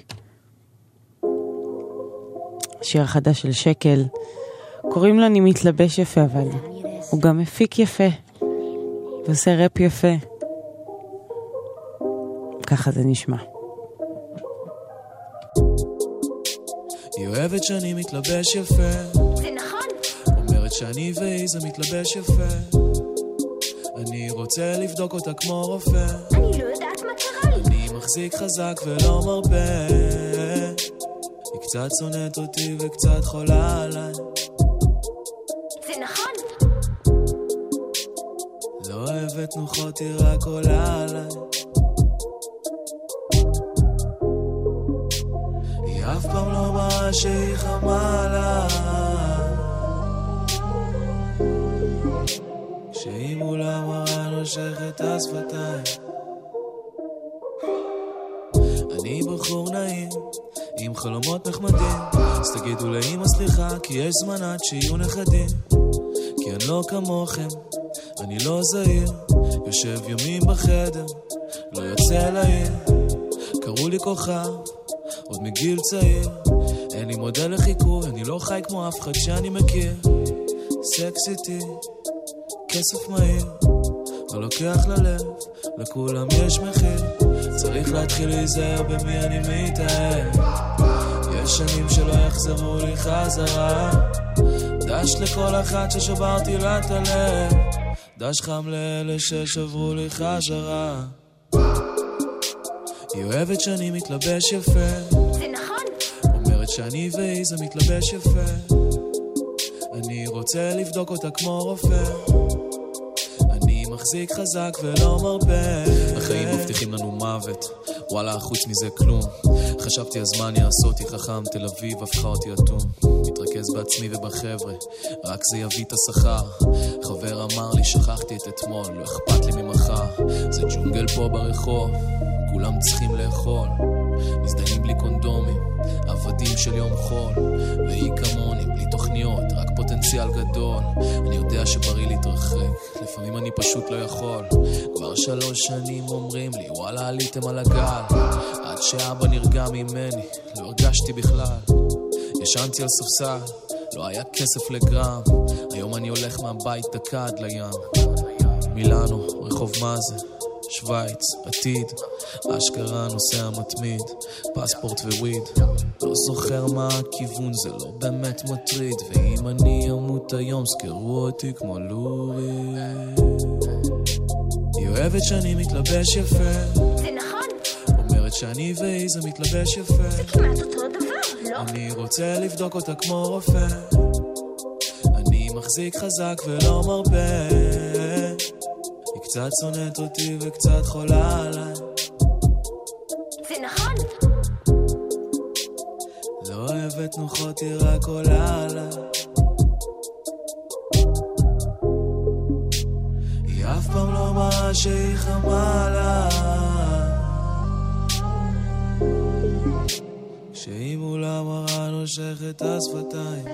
שיר החדש של שקל, קוראים לו אני מתלבש יפה, אבל הוא גם מפיק יפה, ועושה רפ יפה. ככה זה נשמע. היא אוהבת שאני מתלבש יפה, זה נכון. אומרת שאני ואיזה מתלבש יפה, אני רוצה לבדוק אותה כמו רופא, אני לא יודעת מה קרה לי. אני מחזיק חזק ולא מרבה, היא קצת שונאת אותי וקצת חולה עליי, זה נכון. לא אוהבת נוחות, היא רק עולה עליי, היא אף פעם לא מראה שהיא חמה עליי, כשהיא מולה מראה נושכת השפתיים, אני בחור נעים עם חלומות נחמדים, אז תגידו לאמא סליחה, כי יש זמן עד שיהיו נכדים, כי אני לא כמוכם, אני לא זהיר, יושב ימים בחדר, לא יוצא לעיר, קראו לי כוכב עוד מגיל צעיר, אין לי מודל לחיקוי, אני לא חי כמו אף אחד שאני מכיר, סקסיטי, כסף מהיר, לא לוקח ללב, לכולם יש מחיר, צריך להתחיל להיזהר במי אני מתאהב, יש שנים שלא יחזרו לי חזרה, דש לכל אחת ששברתי לה את הלב, דש חם לאלה ששברו לי חזרה, היא אוהבת שאני מתלבש יפה, זה נכון. אומרת שאני ואיזה מתלבש יפה, אני רוצה לבדוק אותה כמו רופא, אני מחזיק חזק ולא מרבה, החיים מבטיחים לנו מוות, וואלה חוץ מזה כלום, חשבתי הזמן יעשה אותי חכם, תל אביב הפכה אותי אטום, מתרכז בעצמי ובחבר'ה, רק זה יביא את השכר, חבר אמר לי שכחתי את אתמול, לא אכפת לי ממחר, זה ג'ונגל פה ברחוב, כולם צריכים לאכול, מזדנים בלי קונדומים, עבדים של יום חול, והיא כמוני בלי תוכניות, רק פוטנציאל גדול, אני יודע שבריא להתרחק, לפעמים אני פשוט לא יכול, כבר שלוש שנים אומרים לי וואלה עליתם על הגל, עד שאבא נרגע ממני, לא הרגשתי בכלל, ישנתי על ספסל, לא היה כסף לגרם, היום אני הולך מהבית דקה עד לים, מילאנו, רחוב מאזה, שוויץ, עתיד, אשכרה נוסע מתמיד, פספורט וויד, לא זוכר מה הכיוון, זה לא באמת מטריד, ואם אני אמות היום זכרו אותי כמו לורי, היא אוהבת שאני מתלבש יפה, זה נכון. אומרת שאני ואיזה מתלבש יפה, זה כמעט אותו דבר, לא? אני רוצה לבדוק אותה כמו רופא, אני מחזיק חזק ולא מרבה, היא קצת שונאת אותי וקצת חולה עליי. זה נכון? לא אוהבת נוחות, היא רק עולה עליי. היא אף פעם לא מראה שהיא חמה עליי. שהיא מולה מראה נושכת השפתיים.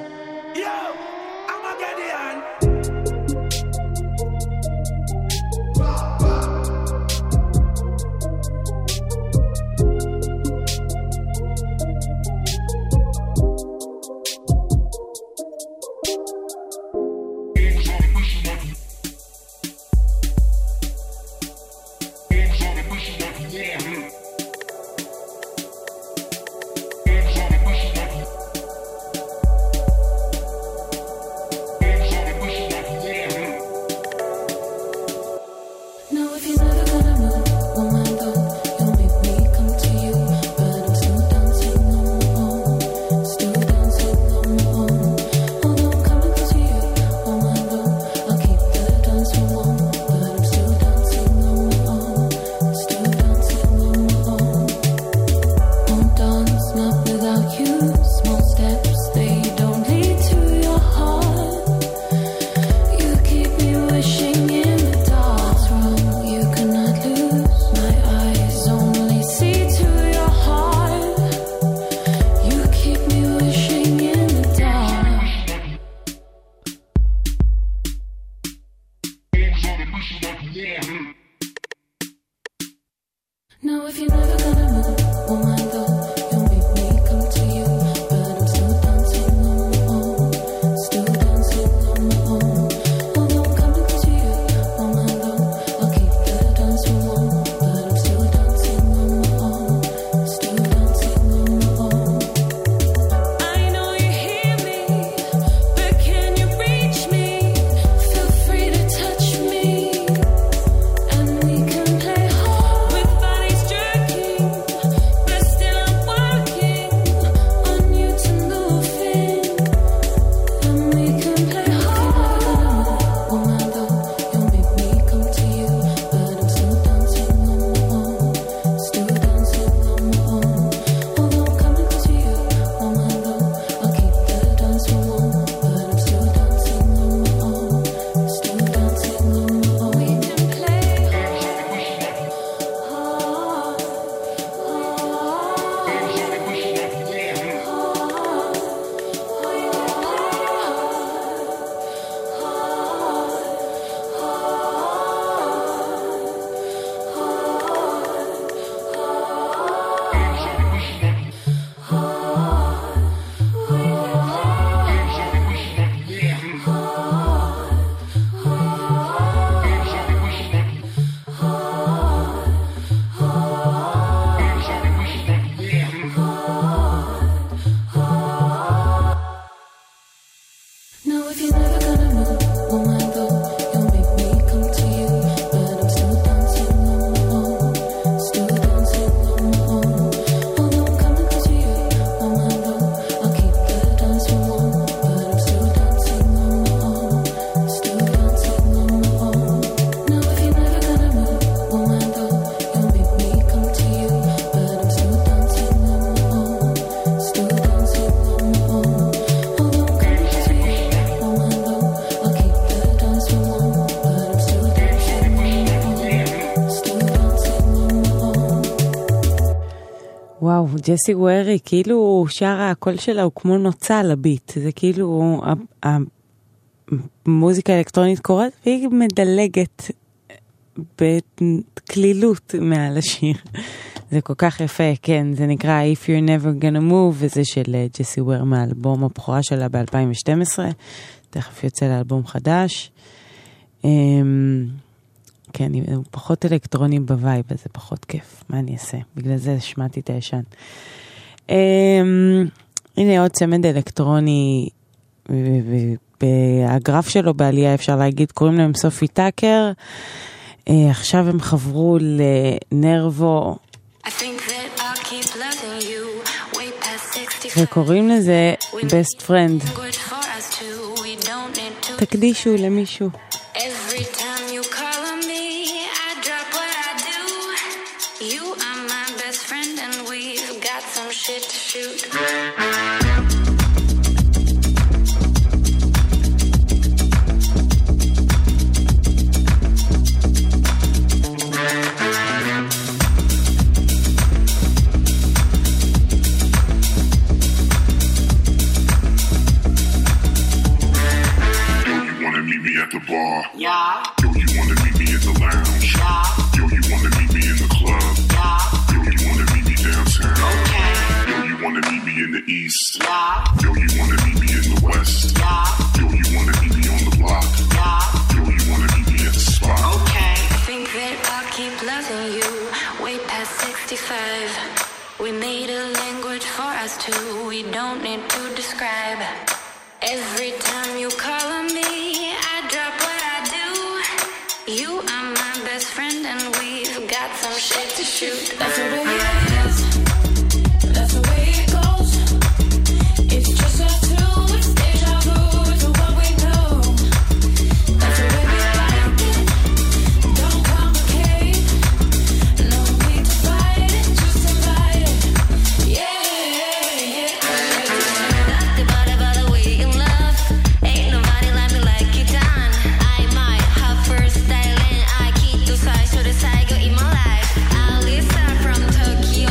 וואו, ג'סי ווירי, כאילו שרה, הקול שלה הוא כמו נוצה לביט, זה כאילו המוזיקה האלקטרונית קורית, והיא מדלגת בכלילות מעל השיר. זה כל כך יפה, כן, זה נקרא If You're Never Gonna Move, וזה של ג'סי ווירי מהאלבום הבכורה שלה ב-אלפיים ושתים עשרה, תכף יוצא לאלבום חדש. כן, הוא פחות אלקטרוני בווייב, אז זה פחות כיף. מה אני אעשה? בגלל זה שמעתי את הישן. הנה עוד צמד אלקטרוני, והגרף שלו בעלייה אפשר להגיד, קוראים להם סופי טאקר. עכשיו הם חברו לנרבו, וקוראים לזה Best Friend. תקדישו למישהו. Every time you call on me, some shit to shoot. At the bar, Yeah. yo, you wanna meet me in the lounge, Yeah. yo, you wanna meet me in the club, Yeah. yo, you wanna meet me downtown, Okay. yo, you wanna meet me in the east, Yeah. yo, you wanna meet me in the west, Yeah. yo, you wanna meet me on the block, Yeah. yo, you wanna meet me at the spot. Okay. I think that I'll keep loving you way past sixty-five. We made a language for us two. We don't need to describe. Every time you call on me, I drop what I do. You are my best friend and we've got some shit to shoot. That's the way it is. That's the way it goes. It's just us two. It's deja vu to what we know. That's the way we like it. Don't complicate. No need to fight it. Just invite it. Yeah, yeah, yeah. By the way you love, ain't nobody like me like you done. I might have first style and I keep to side to the side, go in my life. Alisa from Tokyo,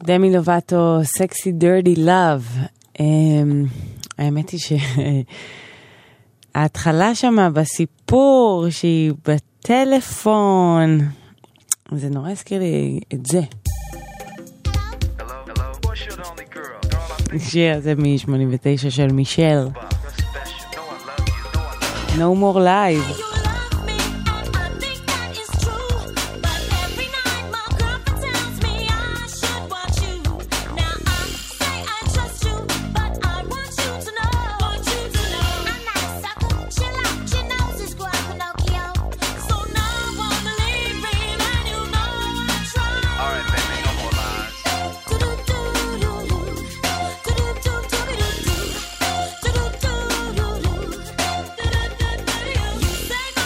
דמי לובטו, סקסי דירטי לב. האמת היא שההתחלה שמה בסיפור שהיא בטלפון, זה נורא הזכיר לי את זה. שיר הזה מ-שמונים ותשע של מישל. No more live. You say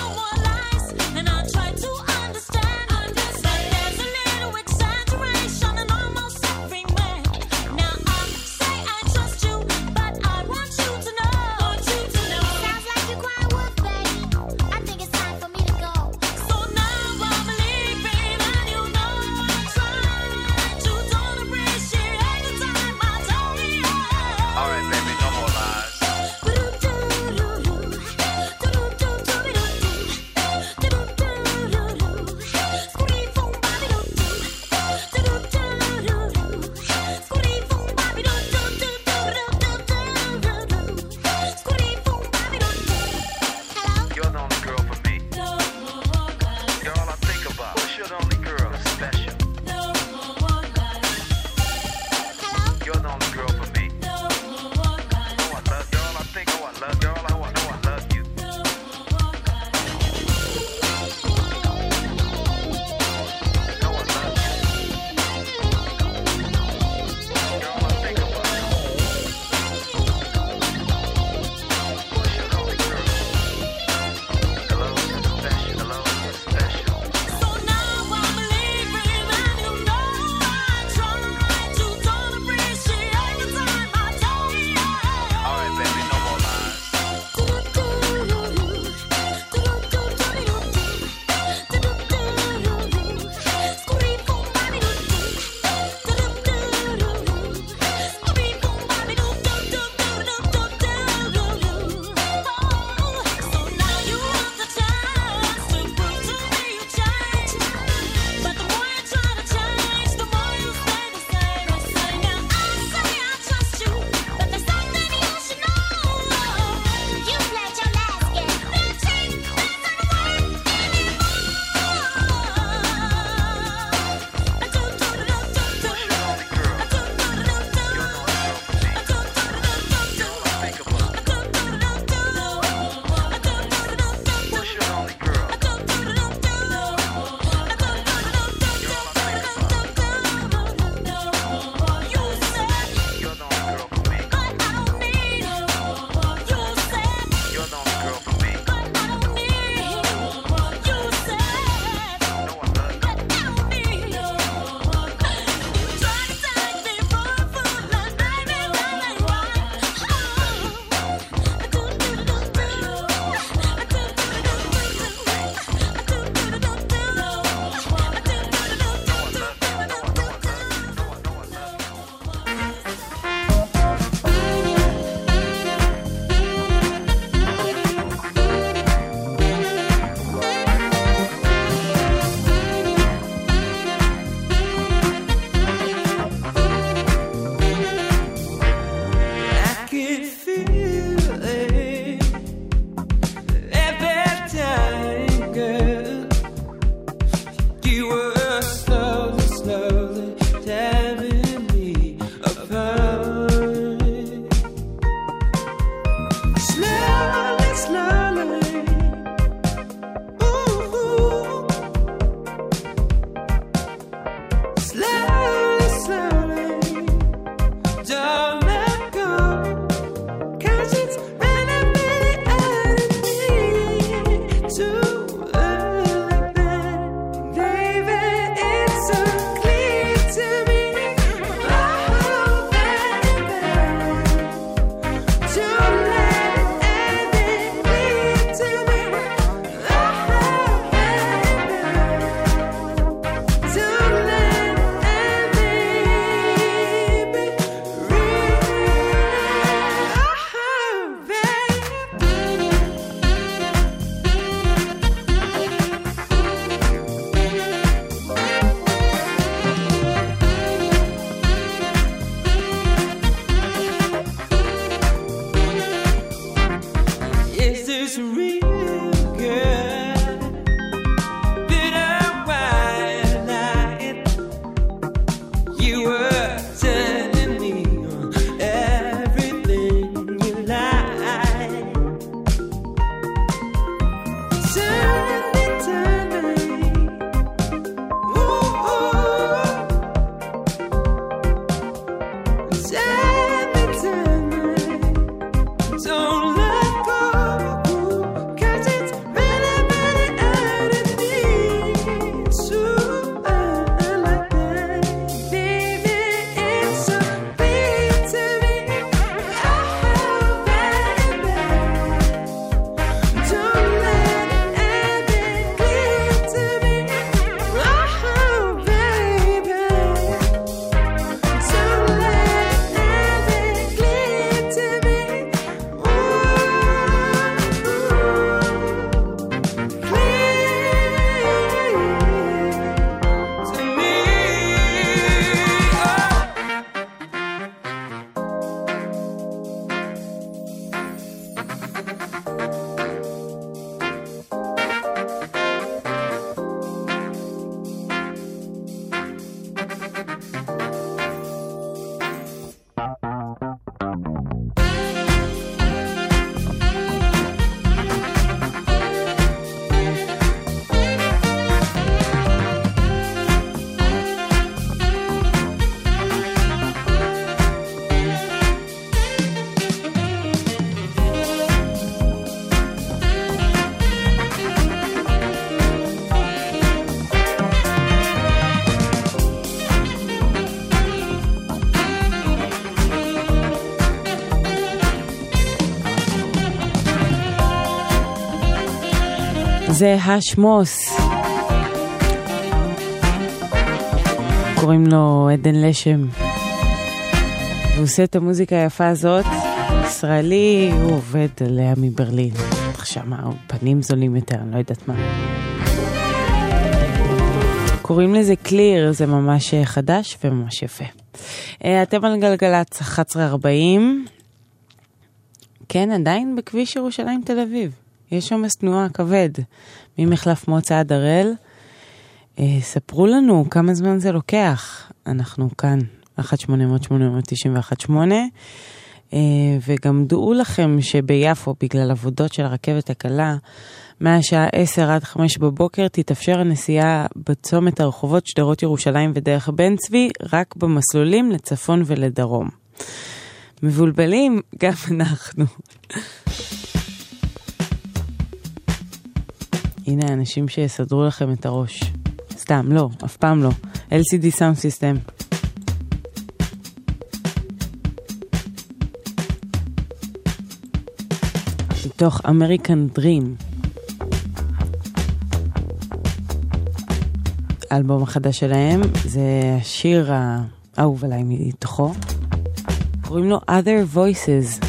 זה השמוס. קוראים לו עדן לשם. והוא עושה את המוזיקה היפה הזאת. ישראלי, הוא עובד עליה מברלין. עכשיו מה, פנים זולים יותר, אני לא יודעת מה. קוראים לזה קליר, זה ממש חדש וממש יפה. אתם על גלגלת אחת עשרה ארבעים. כן, עדיין בכביש ירושלים תל אביב. יש שם תנועה כבד. ממחלף מוצא עד הראל. ספרו לנו כמה זמן זה לוקח. אנחנו כאן, אחת שמונה אפס אפס שמונה תשע אחת שמונה. וגם דעו לכם שביפו, בגלל עבודות של הרכבת הקלה, מהשעה עשר עד חמש בבוקר תתאפשר הנסיעה בצומת הרחובות שדרות ירושלים ודרך בן צבי, רק במסלולים לצפון ולדרום. מבולבלים גם אנחנו. הנה האנשים שיסדרו לכם את הראש. סתם, לא, אף פעם לא. אל סי די Sound System. מתוך American Dream. האלבום החדש שלהם, זה השיר האהוב עליי מתוכו. קוראים לו Other Voices.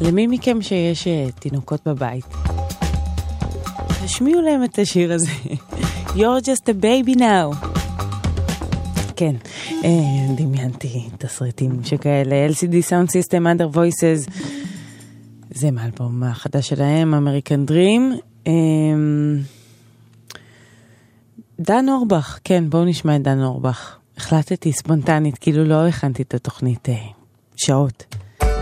למי מכם שיש תינוקות בבית, תשמיעו להם את השיר הזה. You're just a baby now. כן, דמיינתי תסריטים שכאלה. אל סי די Sound System, Other Voices, זה מאלבום החדש שלהם, American Dream. דן אורבך, כן, בואו נשמע את דן אורבך. החלטתי ספונטנית, כאילו לא הכנתי את התוכנית שעות.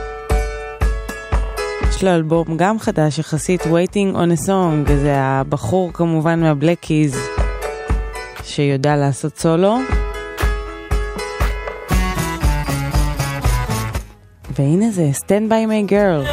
יש לו אלבום גם חדש יחסית, Waiting on a Song, זה הבחור כמובן מהבלקיז שיודע לעשות סולו. והנה זה, Stand by my girl.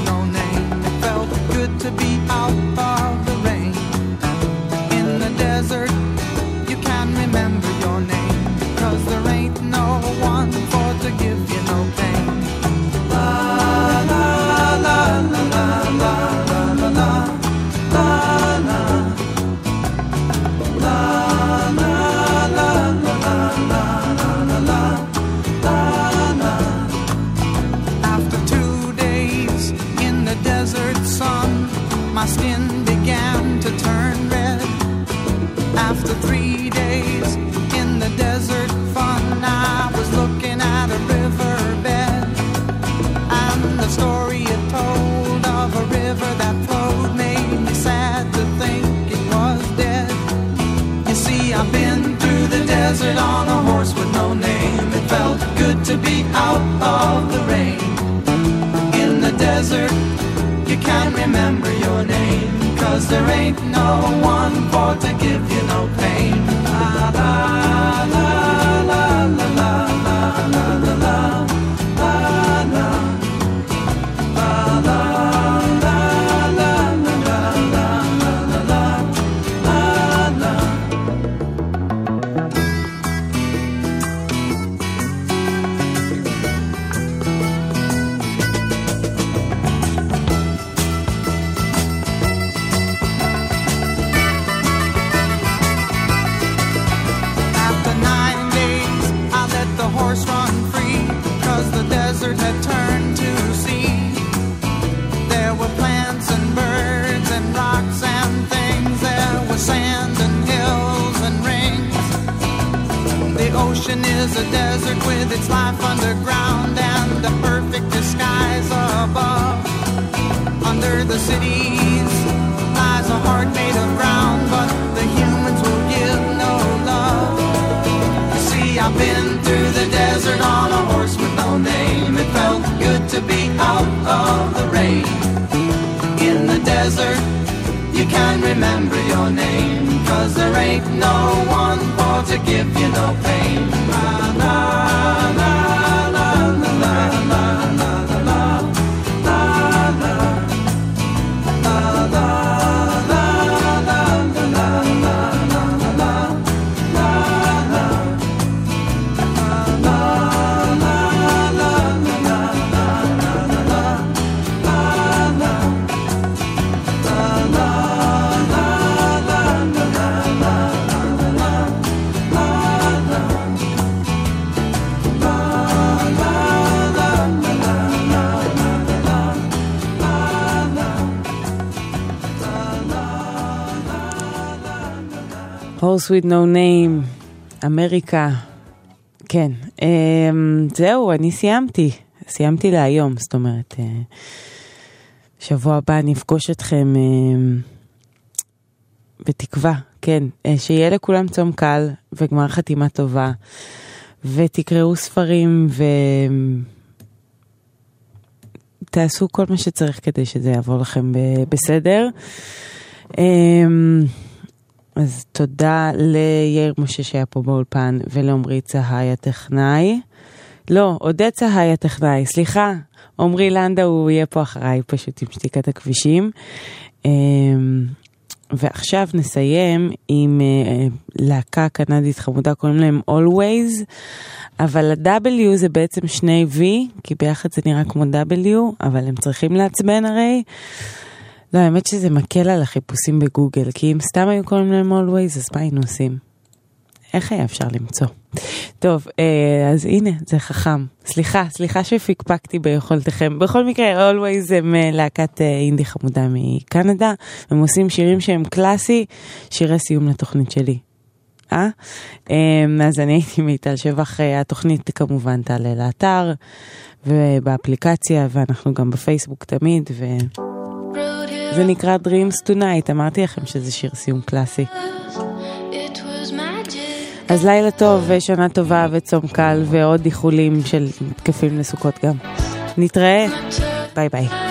Desert my skin began to turn red. After three days in the desert fun, I was looking at a riverbed, and the story it told of a river that flowed made me sad to think it was dead. You see, I've been through the desert on a horse with no name. It felt good to be out of the rain. In the desert, you can't remember your name, 'cause there ain't no one for to give you no pain. La la la la la la la la la la la la la la la la la la. Run free, 'cause the desert had turned to sea. There were plants and birds and rocks and things. There was sand and hills and rings. The ocean is a desert with its life underground and a perfect disguise above. Under the cities lies a heart made of ground, but the humans will give no love. You see, I've been through the desert on a horse with no name. It felt good to be out of the rain. In the desert, you can't remember your name, 'cause there ain't no one for to give you no pain. La la la la la la la la la la la la la la Horse with no name, אמריקה. כן, זהו, אני סיימתי. סיימתי להיום, זאת אומרת, שבוע הבא נפגוש אתכם בתקווה, כן, שיהיה לכולם צום קל וגמר חתימה טובה, ותקראו ספרים ותעשו כל מה שצריך כדי שזה יעבור לכם בסדר. אז תודה ליאיר משה שהיה פה באולפן, ולעומרי צהי הטכנאי. לא, עודד צהי הטכנאי, סליחה. עומרי לנדה הוא יהיה פה אחריי, פשוט עם שתיקת הכבישים. ועכשיו נסיים עם להקה קנדית חמודה, קוראים להם Always, אבל ה-W זה בעצם שני V, כי ביחד זה נראה כמו W, אבל הם צריכים לעצבן הרי. לא, האמת שזה מקל על החיפושים בגוגל, כי אם סתם היו קוראים להם Always, אז מה היינו עושים? איך היה אפשר למצוא? טוב, אז הנה, זה חכם. סליחה, סליחה שפיקפקתי ביכולתכם. בכל מקרה, Always הם להקת אינדי חמודה מקנדה, הם עושים שירים שהם קלאסי, שירי סיום לתוכנית שלי. אה? אז אני הייתי מיטל שבח, התוכנית כמובן תעלה לאתר, ובאפליקציה, ואנחנו גם בפייסבוק תמיד, ו... זה נקרא Dreams Tonight, אמרתי לכם שזה שיר סיום קלאסי. אז לילה טוב ושנה טובה וצום קל ועוד איחולים של תקפים לסוכות גם. נתראה, ביי ביי.